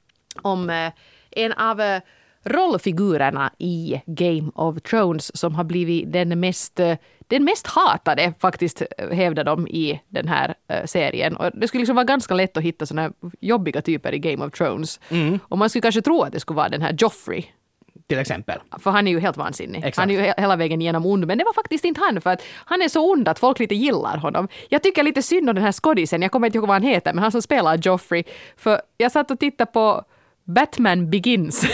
en av rollfigurerna i Game of Thrones som har blivit den mest hatade faktiskt hävdar de i den här serien. Och det skulle liksom vara ganska lätt att hitta såna här jobbiga typer i Game of Thrones. Och man skulle kanske tro att det skulle vara den här Joffrey. Till exempel. För han är ju helt vansinnig. Exakt. Han är ju hela vägen igenom ond. Men det var faktiskt inte han, för att han är så ond att folk lite gillar honom. Jag tycker lite synd om den här skådisen. Jag kommer inte ihåg vad han heter, men han som spelar Joffrey. För jag satt och tittade på Batman Begins.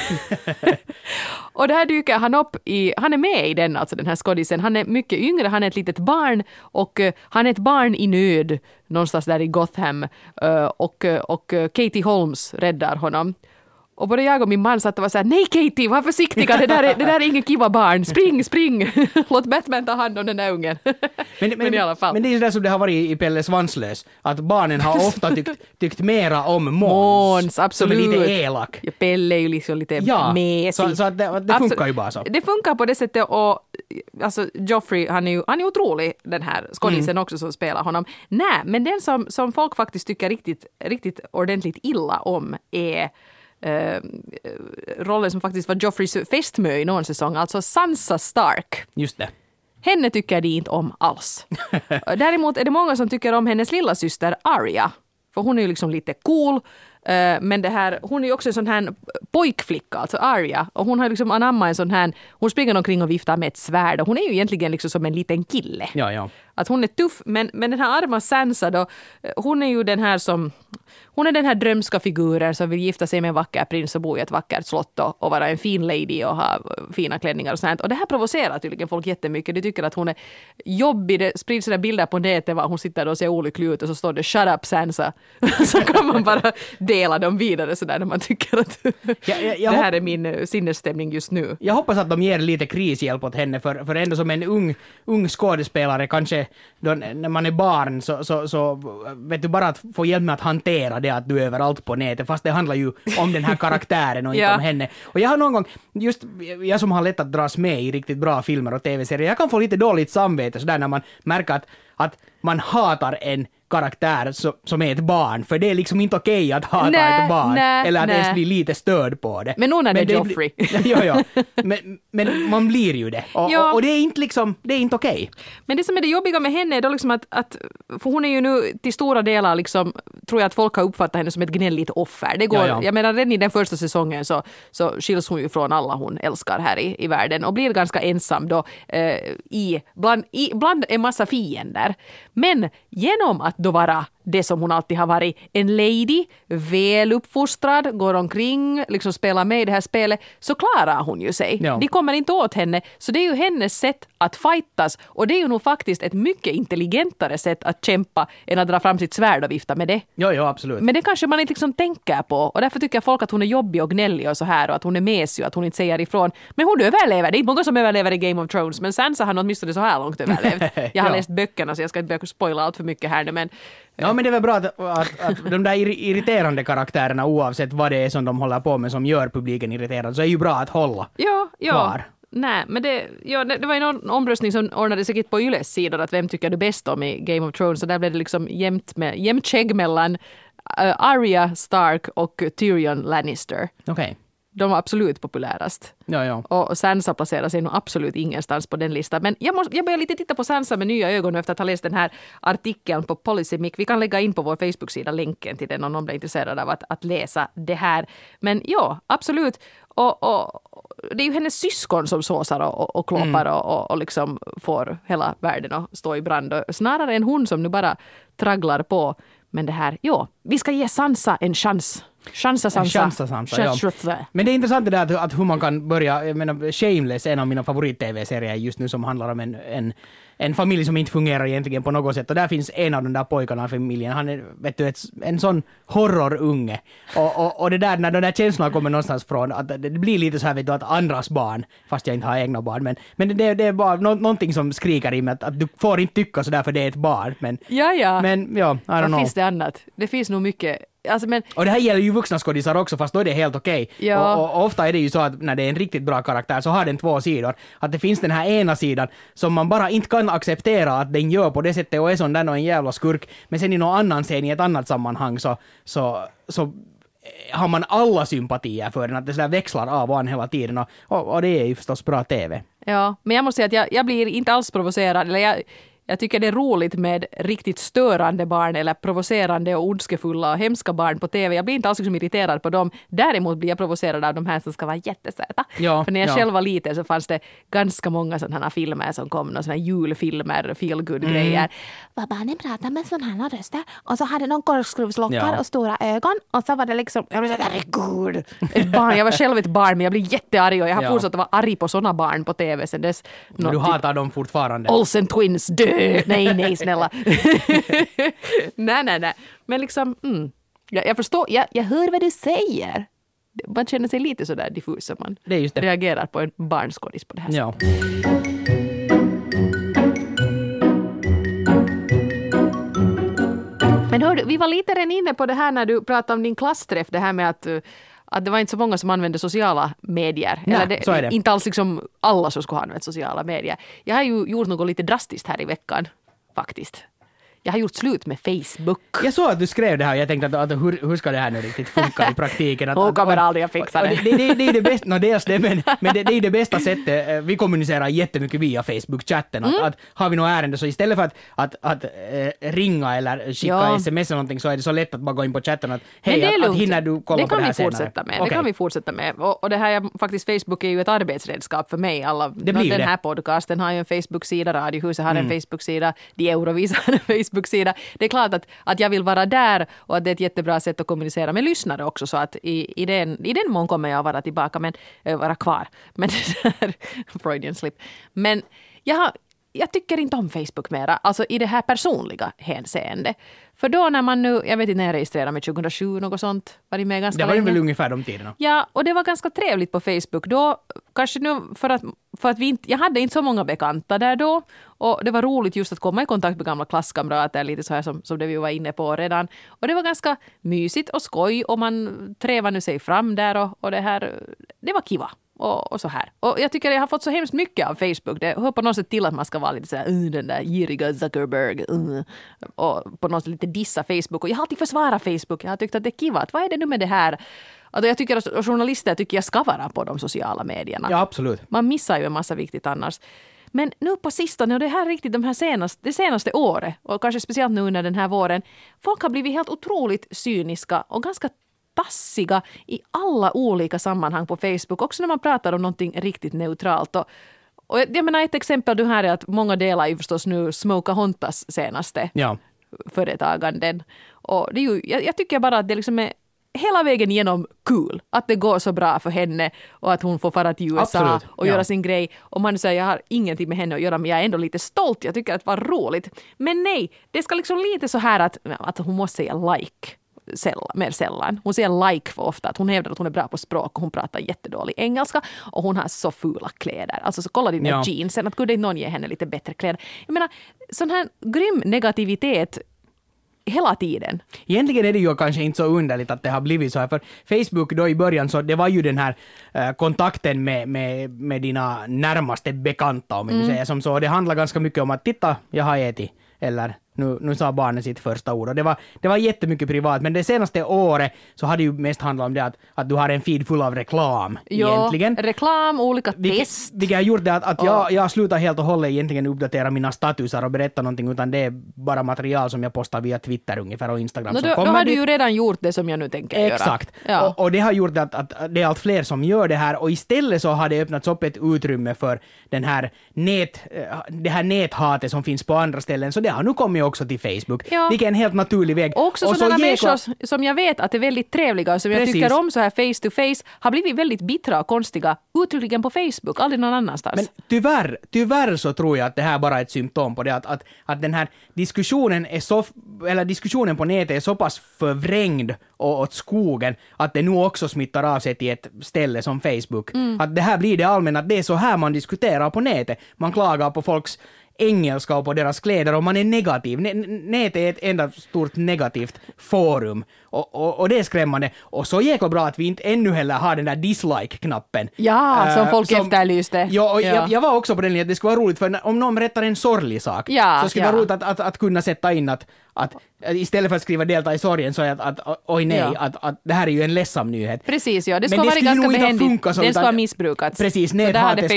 Och där dyker han upp han är med i den, alltså den här skådisen. Han är mycket yngre, han är ett litet barn och han är ett barn i nöd någonstans där i Gotham och Katie Holmes räddar honom. Och både jag och min man satt och var så här: nej Katie, var försiktiga, det där är ingen kiva barn, spring, låt Batman ta hand om den där ungen. Men i alla fall. Men det är ju det som det har varit i Pelle Svanslös, att barnen har ofta tyckt mera om Måns, absolut. som är lite elak. Ja, Pelle är ju liksom lite mesig. Så att det funkar ju bara så. Det funkar på det sättet, och alltså Joffrey, han är otrolig, den här skådisen också som spelar honom. Nej, men den som folk faktiskt tycker riktigt ordentligt illa om är rollen som faktiskt var Joffreys fästmö i någon säsong, alltså Sansa Stark. Just det. Henne tycker de inte om alls. Däremot är det många som tycker om hennes lilla syster Arya. För hon är ju liksom lite cool. Men det här, hon är ju också en sån här pojkflicka, alltså Arya. Och hon har liksom anammat en sån här, hon springer omkring och viftar med ett svärd. Och hon är ju egentligen liksom som en liten kille. Ja. Att hon är tuff, men den här arma Sansa då, hon är ju den här som, hon är den här drömska figuren som vill gifta sig med en vacker prins och bo i ett vackert slott och vara en fin lady och ha fina klänningar och sånt. Och det här provocerar tydligen folk jättemycket. De tycker att hon är jobbig. Det sprids sådana bilder på nätet var hon sitter och ser olycklig ut och så står det "Shut up Sansa". Så kan man bara dela dem vidare sådär när man tycker att det här är min sinnesstämning just nu. Jag hoppas att de ger lite krishjälp åt henne, för ändå som en ung skådespelare, kanske då, när man är barn så vet du, bara att få hjälp med att hantera det att du är överallt på nätet, fast det handlar ju om den här karaktären och inte om henne. Och jag har någon gång, just jag som har lätt att dras med i riktigt bra filmer och tv-serier, jag kan få lite dåligt samvete sådär när man märker att man hatar en karaktär som är ett barn, för det är liksom inte okej att hata ett barn eller att ens bli lite störd på det. Men det är Joffrey. Ja. Men man blir ju det. Och det är inte liksom, det är inte okej. Men det som är det jobbiga med henne är då liksom att för hon är ju nu till stora delar liksom, tror jag att folk har uppfattat henne som ett gnälligt offer. Det går, jag menar redan i den första säsongen så skiljs hon ju från alla hon älskar här i världen och blir ganska ensam då bland en massa fiender. Men genom att då vara det som hon alltid har varit, en lady, väl uppfostrad, går omkring, liksom spelar med i det här spelet, så klarar hon ju sig. Ja. De kommer inte åt henne, så det är ju hennes sätt att fightas, och det är ju nog faktiskt ett mycket intelligentare sätt att kämpa än att dra fram sitt svärd och vifta med det. Ja, absolut. Men det kanske man inte liksom tänker på, och därför tycker folk att hon är jobbig och gnällig och så här, och att hon är mesig och att hon inte säger ifrån. Men hon överlever, det är många som överlever i Game of Thrones, men Sansa har åtminstone så här långt överlevt. Jag har läst böckerna, så jag ska inte börja spoila allt för mycket här nu, men ja, men det är väl bra att de där irriterande karaktärerna, oavsett vad det är som de håller på med som gör publiken irriterad, så är ju bra att hålla kvar. Nej, men det var ju någon omröstning som ordnade säkert på Yles sidor att vem tycker du bäst om i Game of Thrones, så där blev det liksom jämnt skägg mellan Arya Stark och Tyrion Lannister. Okej. De var absolut populärast. Ja. Och Sansa placerar sig nog absolut ingenstans på den listan. Men jag börjar lite titta på Sansa med nya ögon efter att ha läst den här artikeln på Policymic. Vi kan lägga in på vår Facebook-sida länken till den om någon blir intresserad av att läsa det här. Men ja, absolut. Och det är ju hennes syskon som såsar och kloppar och liksom får hela världen att stå i brand. Och snarare än hon som nu bara tragglar på. Men det här, vi ska ge Sansa en chans. Sansa, ja. Men det är intressant det där att hur man kan börja, jag menar, Shameless, en av mina favorit-tv-serier just nu, som handlar om en familj som inte fungerar egentligen på något sätt, och där finns en av de där pojkarna i familjen, han är, vet du, en sån horrorunge, och det där, när de där känslorna kommer någonstans från, att det blir lite så här, vet du, att andras barn, fast jag inte har egna barn, men det är bara någonting som skriker i mig att du får inte tycka så där för det är ett barn, men ja, men I don't know. Finns det annat? Det finns nog mycket. Alltså, men och det här gäller ju vuxna skådisar också, fast då är det helt okej. Ja. Och ofta är det ju så att när det är en riktigt bra karaktär så har den två sidor. Att det finns den här ena sidan som man bara inte kan acceptera att den gör på det sättet och är sån där och en jävla skurk. Men sen i någon annan scen i ett annat sammanhang så har man alla sympatier för den, att det så där växlar av och hela tiden. Och det är ju förstås bra TV. Ja, men jag måste säga att jag blir inte alls provocerad, eller jag tycker det är roligt med riktigt störande barn eller provocerande och ondskefulla och hemska barn på TV. Jag blir inte alls liksom irriterad på dem. Däremot blir jag provocerad av de här som ska vara jättesöta. Ja, för när jag själv var liten så fanns det ganska många sådana här filmer som kom, och sådana här julfilmer, feel-good-grejer. Var barnen pratade med sådana här röster och så hade någon korkskruvslockar och stora ögon, och så var det liksom, jag blev så herregud, ett barn. Jag var själv ett barn, men jag blev jättearg, och jag har fortsatt att vara arg på sådana barn på TV sen dess. Du hatar dem fortfarande. Olsen Twins, Nej, snälla. nej. Men liksom, jag förstår, jag hör vad du säger. man känner sig lite så där diffus som man Det är just det. reagerar på en barnskådis på det här sättet. Ja. Men hördu, vi var lite redan inne på det här när du pratade om din klassträff, det här med att det var inte så många som använde sociala medier. Nej, så är det. Inte alls liksom alla som skulle ha använt sociala medier. Jag har ju gjort något lite drastiskt här i veckan, faktiskt. Jag har gjort slut med Facebook. Jag såg att du skrev det här och jag tänkte att hur ska det här nu riktigt funka i praktiken? Hon kommer aldrig att fixa det. Det är det bästa, dels det, men det är det bästa sättet. Vi kommunicerar jättemycket via Facebook-chatten. Att har vi något ärende så istället för att ringa eller skicka sms eller någonting så är det så lätt att bara gå in på chatten att hej, att hinner du kolla på det här senare? Det kan vi fortsätta med. Och det här faktiskt, Facebook är ju ett arbetsredskap för mig. Den här podcasten har ju en Facebook-sida, Radiohuset har en Facebook-sida, De Eurovisa har en Facebook-sida. Det är klart att jag vill vara där och att det är ett jättebra sätt att kommunicera med lyssnare också, så att i den mån kommer jag att vara tillbaka, men vara kvar. Men det där Freudian slip. Men jag tycker inte om Facebook mera, alltså i det här personliga hänseende. För då när man nu, jag vet inte när jag registrerade mig 2007, något sånt, var det med ganska länge. Det var väl ungefär de tiderna. Ja, och det var ganska trevligt på Facebook. Då, kanske nu för att vi inte, jag hade inte så många bekanta där då. Och det var roligt just att komma i kontakt med gamla klasskamrater, lite så här som det vi var inne på redan. Och det var ganska mysigt och skoj och man trevade sig fram där och det här, det var kiva. Och så här. Och jag tycker jag har fått så hemskt mycket av Facebook. Det hör på något sätt till att man ska vara lite så här, den där giriga Zuckerberg. Och på något sätt lite dissa Facebook. Och jag har alltid försvarat Facebook. Jag har tyckt att det är kivat. Vad är det nu med det här? Alltså jag tycker att journalister tycker jag ska vara på de sociala medierna. Ja, absolut. Man missar ju en massa viktigt annars. Men nu på sistone, och det här riktigt det senaste året, och kanske speciellt nu under den här våren, folk har blivit helt otroligt cyniska och ganska tassiga i alla olika sammanhang på Facebook, också när man pratar om någonting riktigt neutralt. Och jag menar ett exempel du här är att många delar ju förstås nu Smokahontas senaste företaganden. Och det är ju, jag tycker bara att det liksom är hela vägen igenom kul. Att det går så bra för henne och att hon får fara till USA och göra sin grej. Och man säger jag har ingenting med henne att göra, men jag är ändå lite stolt. Jag tycker att det var roligt. Men nej, det ska liksom lite så här att hon måste säga like. Mer sällan. Hon säger like för ofta. Att hon hävdar att hon är bra på språk och hon pratar jättedålig engelska och hon har så fula kläder. Alltså så kolla dina jeansen, att kunde inte någon ge henne lite bättre kläder. Jag menar, sån här grym negativitet hela tiden. Egentligen är det ju kanske inte så underligt att det har blivit så här, för Facebook då i början så det var ju den här kontakten med dina närmaste bekanta, om man säger som så. Det handlar ganska mycket om att titta, jag har ätit, eller nu sa barnen sitt första ord. Och det var jättemycket privat, men det senaste året så har det ju mest handlat om det att du har en feed full av reklam egentligen. Reklam, olika test. Vilket har gjort det att jag slutar helt och hållet egentligen uppdatera mina statusar och berätta någonting, utan det är bara material som jag postar via Twitter ungefär och Instagram. Då har du ju redan gjort det som jag nu tänker göra. Exakt. Ja. Och det har gjort att det är allt fler som gör det här, och istället så har det öppnats upp ett utrymme för det här näthatet som finns på andra ställen, så det har nu kommit också till Facebook. Ja. Vilket är en helt naturlig väg. Och också sådana människor som jag vet att är väldigt trevliga och som jag tycker om så här face to face har blivit väldigt bittra och konstiga uttryckligen på Facebook, aldrig någon annanstans. Men tyvärr så tror jag att det här bara är ett symptom på det att den här diskussionen på nätet är så pass förvrängd och åt skogen att det nu också smittar av sig till ett ställe som Facebook. Att det här blir det allmänna, att det är så här man diskuterar på nätet. Man klagar på folks engelska och på deras kläder och man är negativ. Nätet är ett enda stort negativt forum. Och det är skrämmande. Och så jäkla bra att vi inte ännu heller har den där dislike-knappen. Ja, som folk efterlyste. Ja, jag var också på den linjen att det skulle vara roligt, för om någon berättar en sorglig sak så skulle det vara roligt att kunna sätta in att istället för att skriva delta i sorgen så är att oj nej, att det här är ju en ledsam nyhet. Precis, ja. Det ska vara ganska behändigt. Den ska ha missbrukats. Precis, näthatet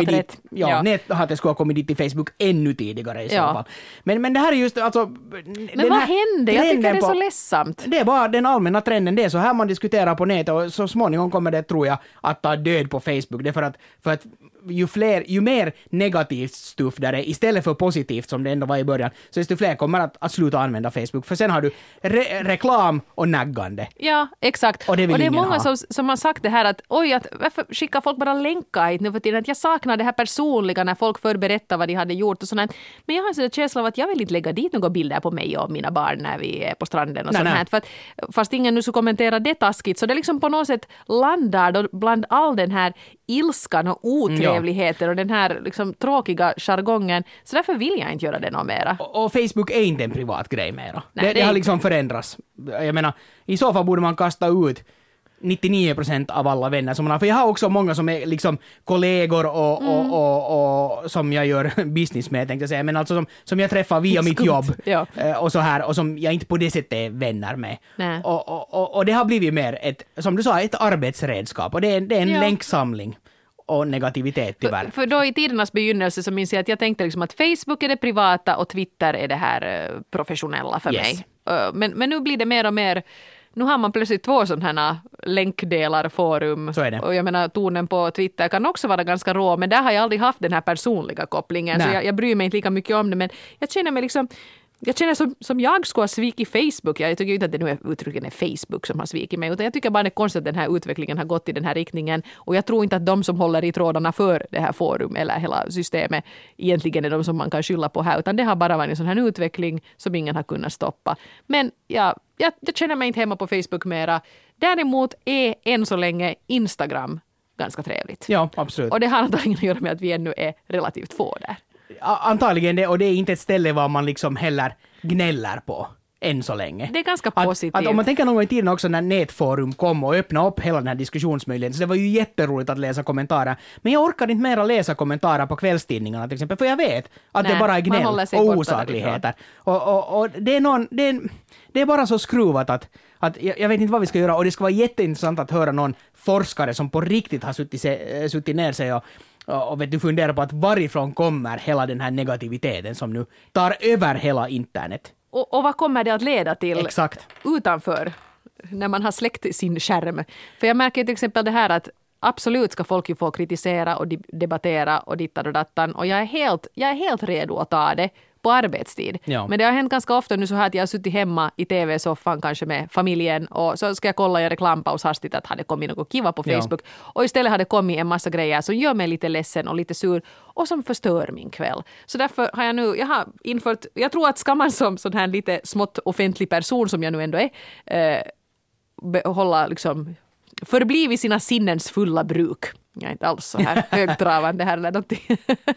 skulle ha kommit dit i Facebook ännu tidigare i så fall. Men det här är just alltså... Men vad hände? Jag tycker det är så ledsamt. Det är bara den allmänna trenden. Det är så här man diskuterar på nätet och så småningom kommer det, tror jag, att ta död på Facebook. Det är för att ju mer negativt stuff där är istället för positivt som det ändå var i början, så desto fler kommer att sluta använda Facebook. För sen har du reklam och naggande. Ja, exakt. Och det är ingen många ha. som har sagt det här att varför skickar folk bara länkar hit nu för tiden? Att jag saknar det här personliga när folk förberättar vad de hade gjort och sånt. Men jag har en sån känsla av att jag vill inte lägga dit några bilder på mig och mina barn när vi är på stranden och sånt här. För att, fast ingen nu så kommenterar det taskigt, så det liksom på något sätt landar då bland all den här ilskan och otrevligheter och den här liksom tråkiga jargongen. Så därför vill jag inte göra det något mera. Och Facebook är inte en privat grej mera. Nej, Det har liksom förändrats. Jag menar, i så fall borde man kasta ut 99% av alla vänner som man har. För jag har också många som är liksom kollegor och som jag gör business med, tänkte jag säga. Men alltså som jag träffar via mitt jobb och så här, och som jag inte på det sättet är vänner med. Och det har blivit mer ett, som du sa, ett arbetsredskap. Och det är en länksamling och negativitet tyvärr. För då i tidernas begynnelse så minns jag att jag tänkte liksom att Facebook är det privata och Twitter är det här professionella för mig. Men nu blir det mer och mer. Nu har man plötsligt 2 sådana här länkdelar, forum. Så är det. Och jag menar, tonen på Twitter kan också vara ganska rå, men där har jag aldrig haft den här personliga kopplingen. Så jag bryr mig inte lika mycket om det, men jag känner mig liksom... Jag känner som jag skulle ha svikit Facebook. Jag tycker inte att det nu är uttrycken är Facebook som har svikit mig, utan jag tycker bara det är konstigt att den här utvecklingen har gått i den här riktningen. Och jag tror inte att de som håller i trådarna för det här forum eller hela systemet egentligen är de som man kan skylla på här, utan det har bara varit en sån här utveckling som ingen har kunnat stoppa. Men jag känner mig inte hemma på Facebook mera. Däremot är än så länge Instagram ganska trevligt. Ja, absolut. Och det har antagligen att göra med att vi ännu är relativt få där. Antagligen det, och det är inte ett ställe var man liksom heller gnäller på än så länge. Det är ganska positivt. Att om man tänker någon gång i tiden också när nätforum kom och öppnade upp hela den här diskussionsmöjligheten, så det var ju jätteroligt att läsa kommentarer. Men jag orkar inte mera läsa kommentarer på kvällstidningarna till exempel, för jag vet att det bara är gnäll och osakligheter. Och det är bara så skruvat att jag vet inte vad vi ska göra, och det ska vara jätteintressant att höra någon forskare som på riktigt har suttit ner sig och vet du, funderar på att varifrån kommer hela den här negativiteten som nu tar över hela internet. Och vad kommer det att leda till? Exakt. Utanför, när man har släckt sin skärm? För jag märker till exempel det här att absolut ska folk ju få kritisera och debattera och dittan och dattan, och jag är helt redo att ta det på arbetstid. Ja. Men det har hänt ganska ofta nu så här att jag har suttit hemma i tv-soffan kanske med familjen, och så ska jag kolla i reklampaus hastigt att hade kommit något kiva på Facebook. Ja. Och istället hade kommit en massa grejer som gör mig lite ledsen och lite sur och som förstör min kväll. Så därför har jag har infört, jag tror att ska man som sån här lite smått offentlig person som jag nu ändå är, hålla liksom förbli vid sina sinnens fulla bruk. Jag är inte alls så här högtravande här eller någonting.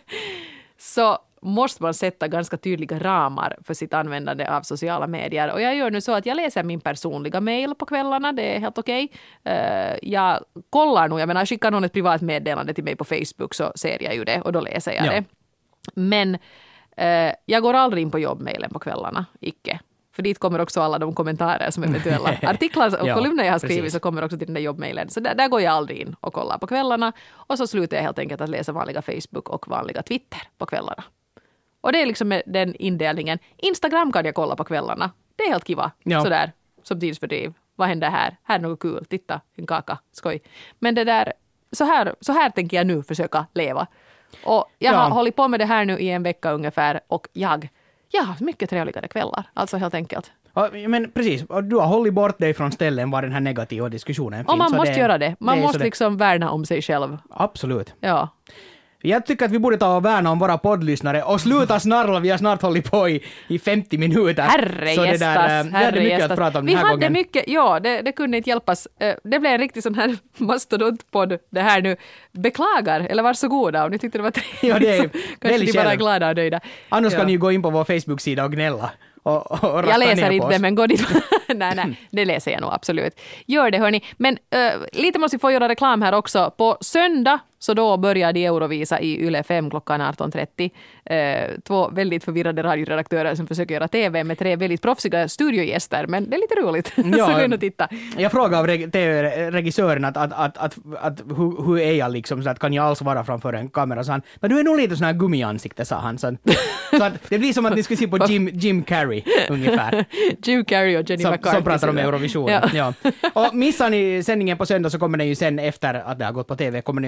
Så måste man sätta ganska tydliga ramar för sitt användande av sociala medier. Och jag gör nu så att jag läser min personliga mail på kvällarna. Det är helt okej. Jag kollar nog, jag menar, skickar någon ett privat meddelande till mig på Facebook så ser jag ju det och då läser jag det. Men jag går aldrig in på jobbmailen på kvällarna, icke. För dit kommer också alla de kommentarer som eventuella artiklar och kolumner jag har skrivit, så kommer också till den där jobbmailen. Så där går jag aldrig in och kollar på kvällarna. Och så slutar jag helt enkelt att läsa vanliga Facebook och vanliga Twitter på kvällarna. Och det är liksom den indelningen. Instagram kan jag kolla på kvällarna. Det är helt kiva. Ja. Sådär, som tidsfördriv. Vad händer här? Här är något kul. Titta, en kaka. Skoj. Men det där, så här tänker jag nu försöka leva. Och jag har hållit på med det här nu i en vecka ungefär. Och jag har mycket trevligare kvällar. Alltså helt enkelt. Ja, men precis, du har hållit bort dig från ställen var den här negativa diskussionen finns. Och man måste göra det. Man måste liksom värna om sig själv. Absolut. Ja. Jag tycker att vi borde ta och värna om våra poddlyssnare och sluta snarla. Vi har snart hållit på i 50 minuter. Herrejestas. Vi hade mycket att prata om den här gången. Mycket, ja, det kunde inte hjälpas. Det blev en riktig sån här mastodontpodd det här nu. Beklagar, eller varsågoda om ni tyckte det var trevligt. Ja, det är kanske ni bara är glada och nöjda. Annars kan ni gå in på vår Facebook-sida och gnälla. Jag läser inte, men gå dit. nej, det läser jag nog absolut. Gör det, hörni. Men lite måste vi få göra reklam här också. På söndag, så då börjar de Eurovisa i Yle 5 klockan 18.30. 2 väldigt förvirrade radioredaktörer som försöker göra tv med 3 väldigt proffsiga studiogäster. Men det är lite roligt. Ja, så gå in och titta. Jag frågade av regissören att hur är jag liksom, så att kan jag alls vara framför en kamera? Så han, men du är nog lite sån här gummiansikte, sa han. Så att det blir som att ni skulle se på Jim Carrey ungefär. Jim Carrey och Jenny McCarthy. Som pratar om Eurovision. Ja. Och missar ni sändningen på söndag så kommer den ju sen efter att det har gått på tv, kommer den ju att finnas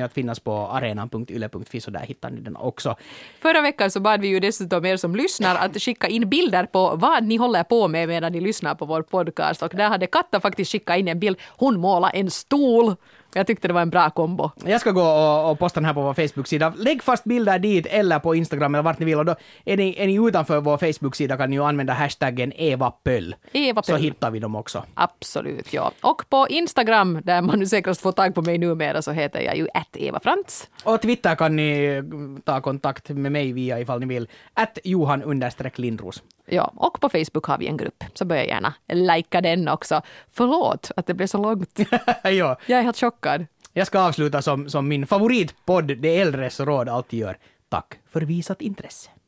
på arenan.yle.fi, så där hittar ni den också. Förra veckan så bad vi ju dessutom er som lyssnar att skicka in bilder på vad ni håller på med medan ni lyssnar på vår podcast. Och där hade Katta faktiskt skickat in en bild. Hon målar en stol. Jag tyckte det var en bra kombo. Jag ska gå och posta den här på vår Facebook-sida. Lägg fast bilder dit eller på Instagram eller vart ni vill. Och då är ni utanför vår Facebook-sida kan ni ju använda hashtaggen EvaPöll. Så hittar vi dem också. Absolut, ja. Och på Instagram, där man nu säkrast får tag på mig numera, så heter jag ju @EvaFrantz. Och Twitter kan ni ta kontakt med mig via ifall ni vill. @Johan_Lindros. Ja, och på Facebook har vi en grupp. Så börja gärna likea den också. Förlåt att det blev så långt. Ja. Jag är helt chockad. Jag ska avsluta som min favoritpodd, Det äldres råd, alltid gör. Tack för visat intresse.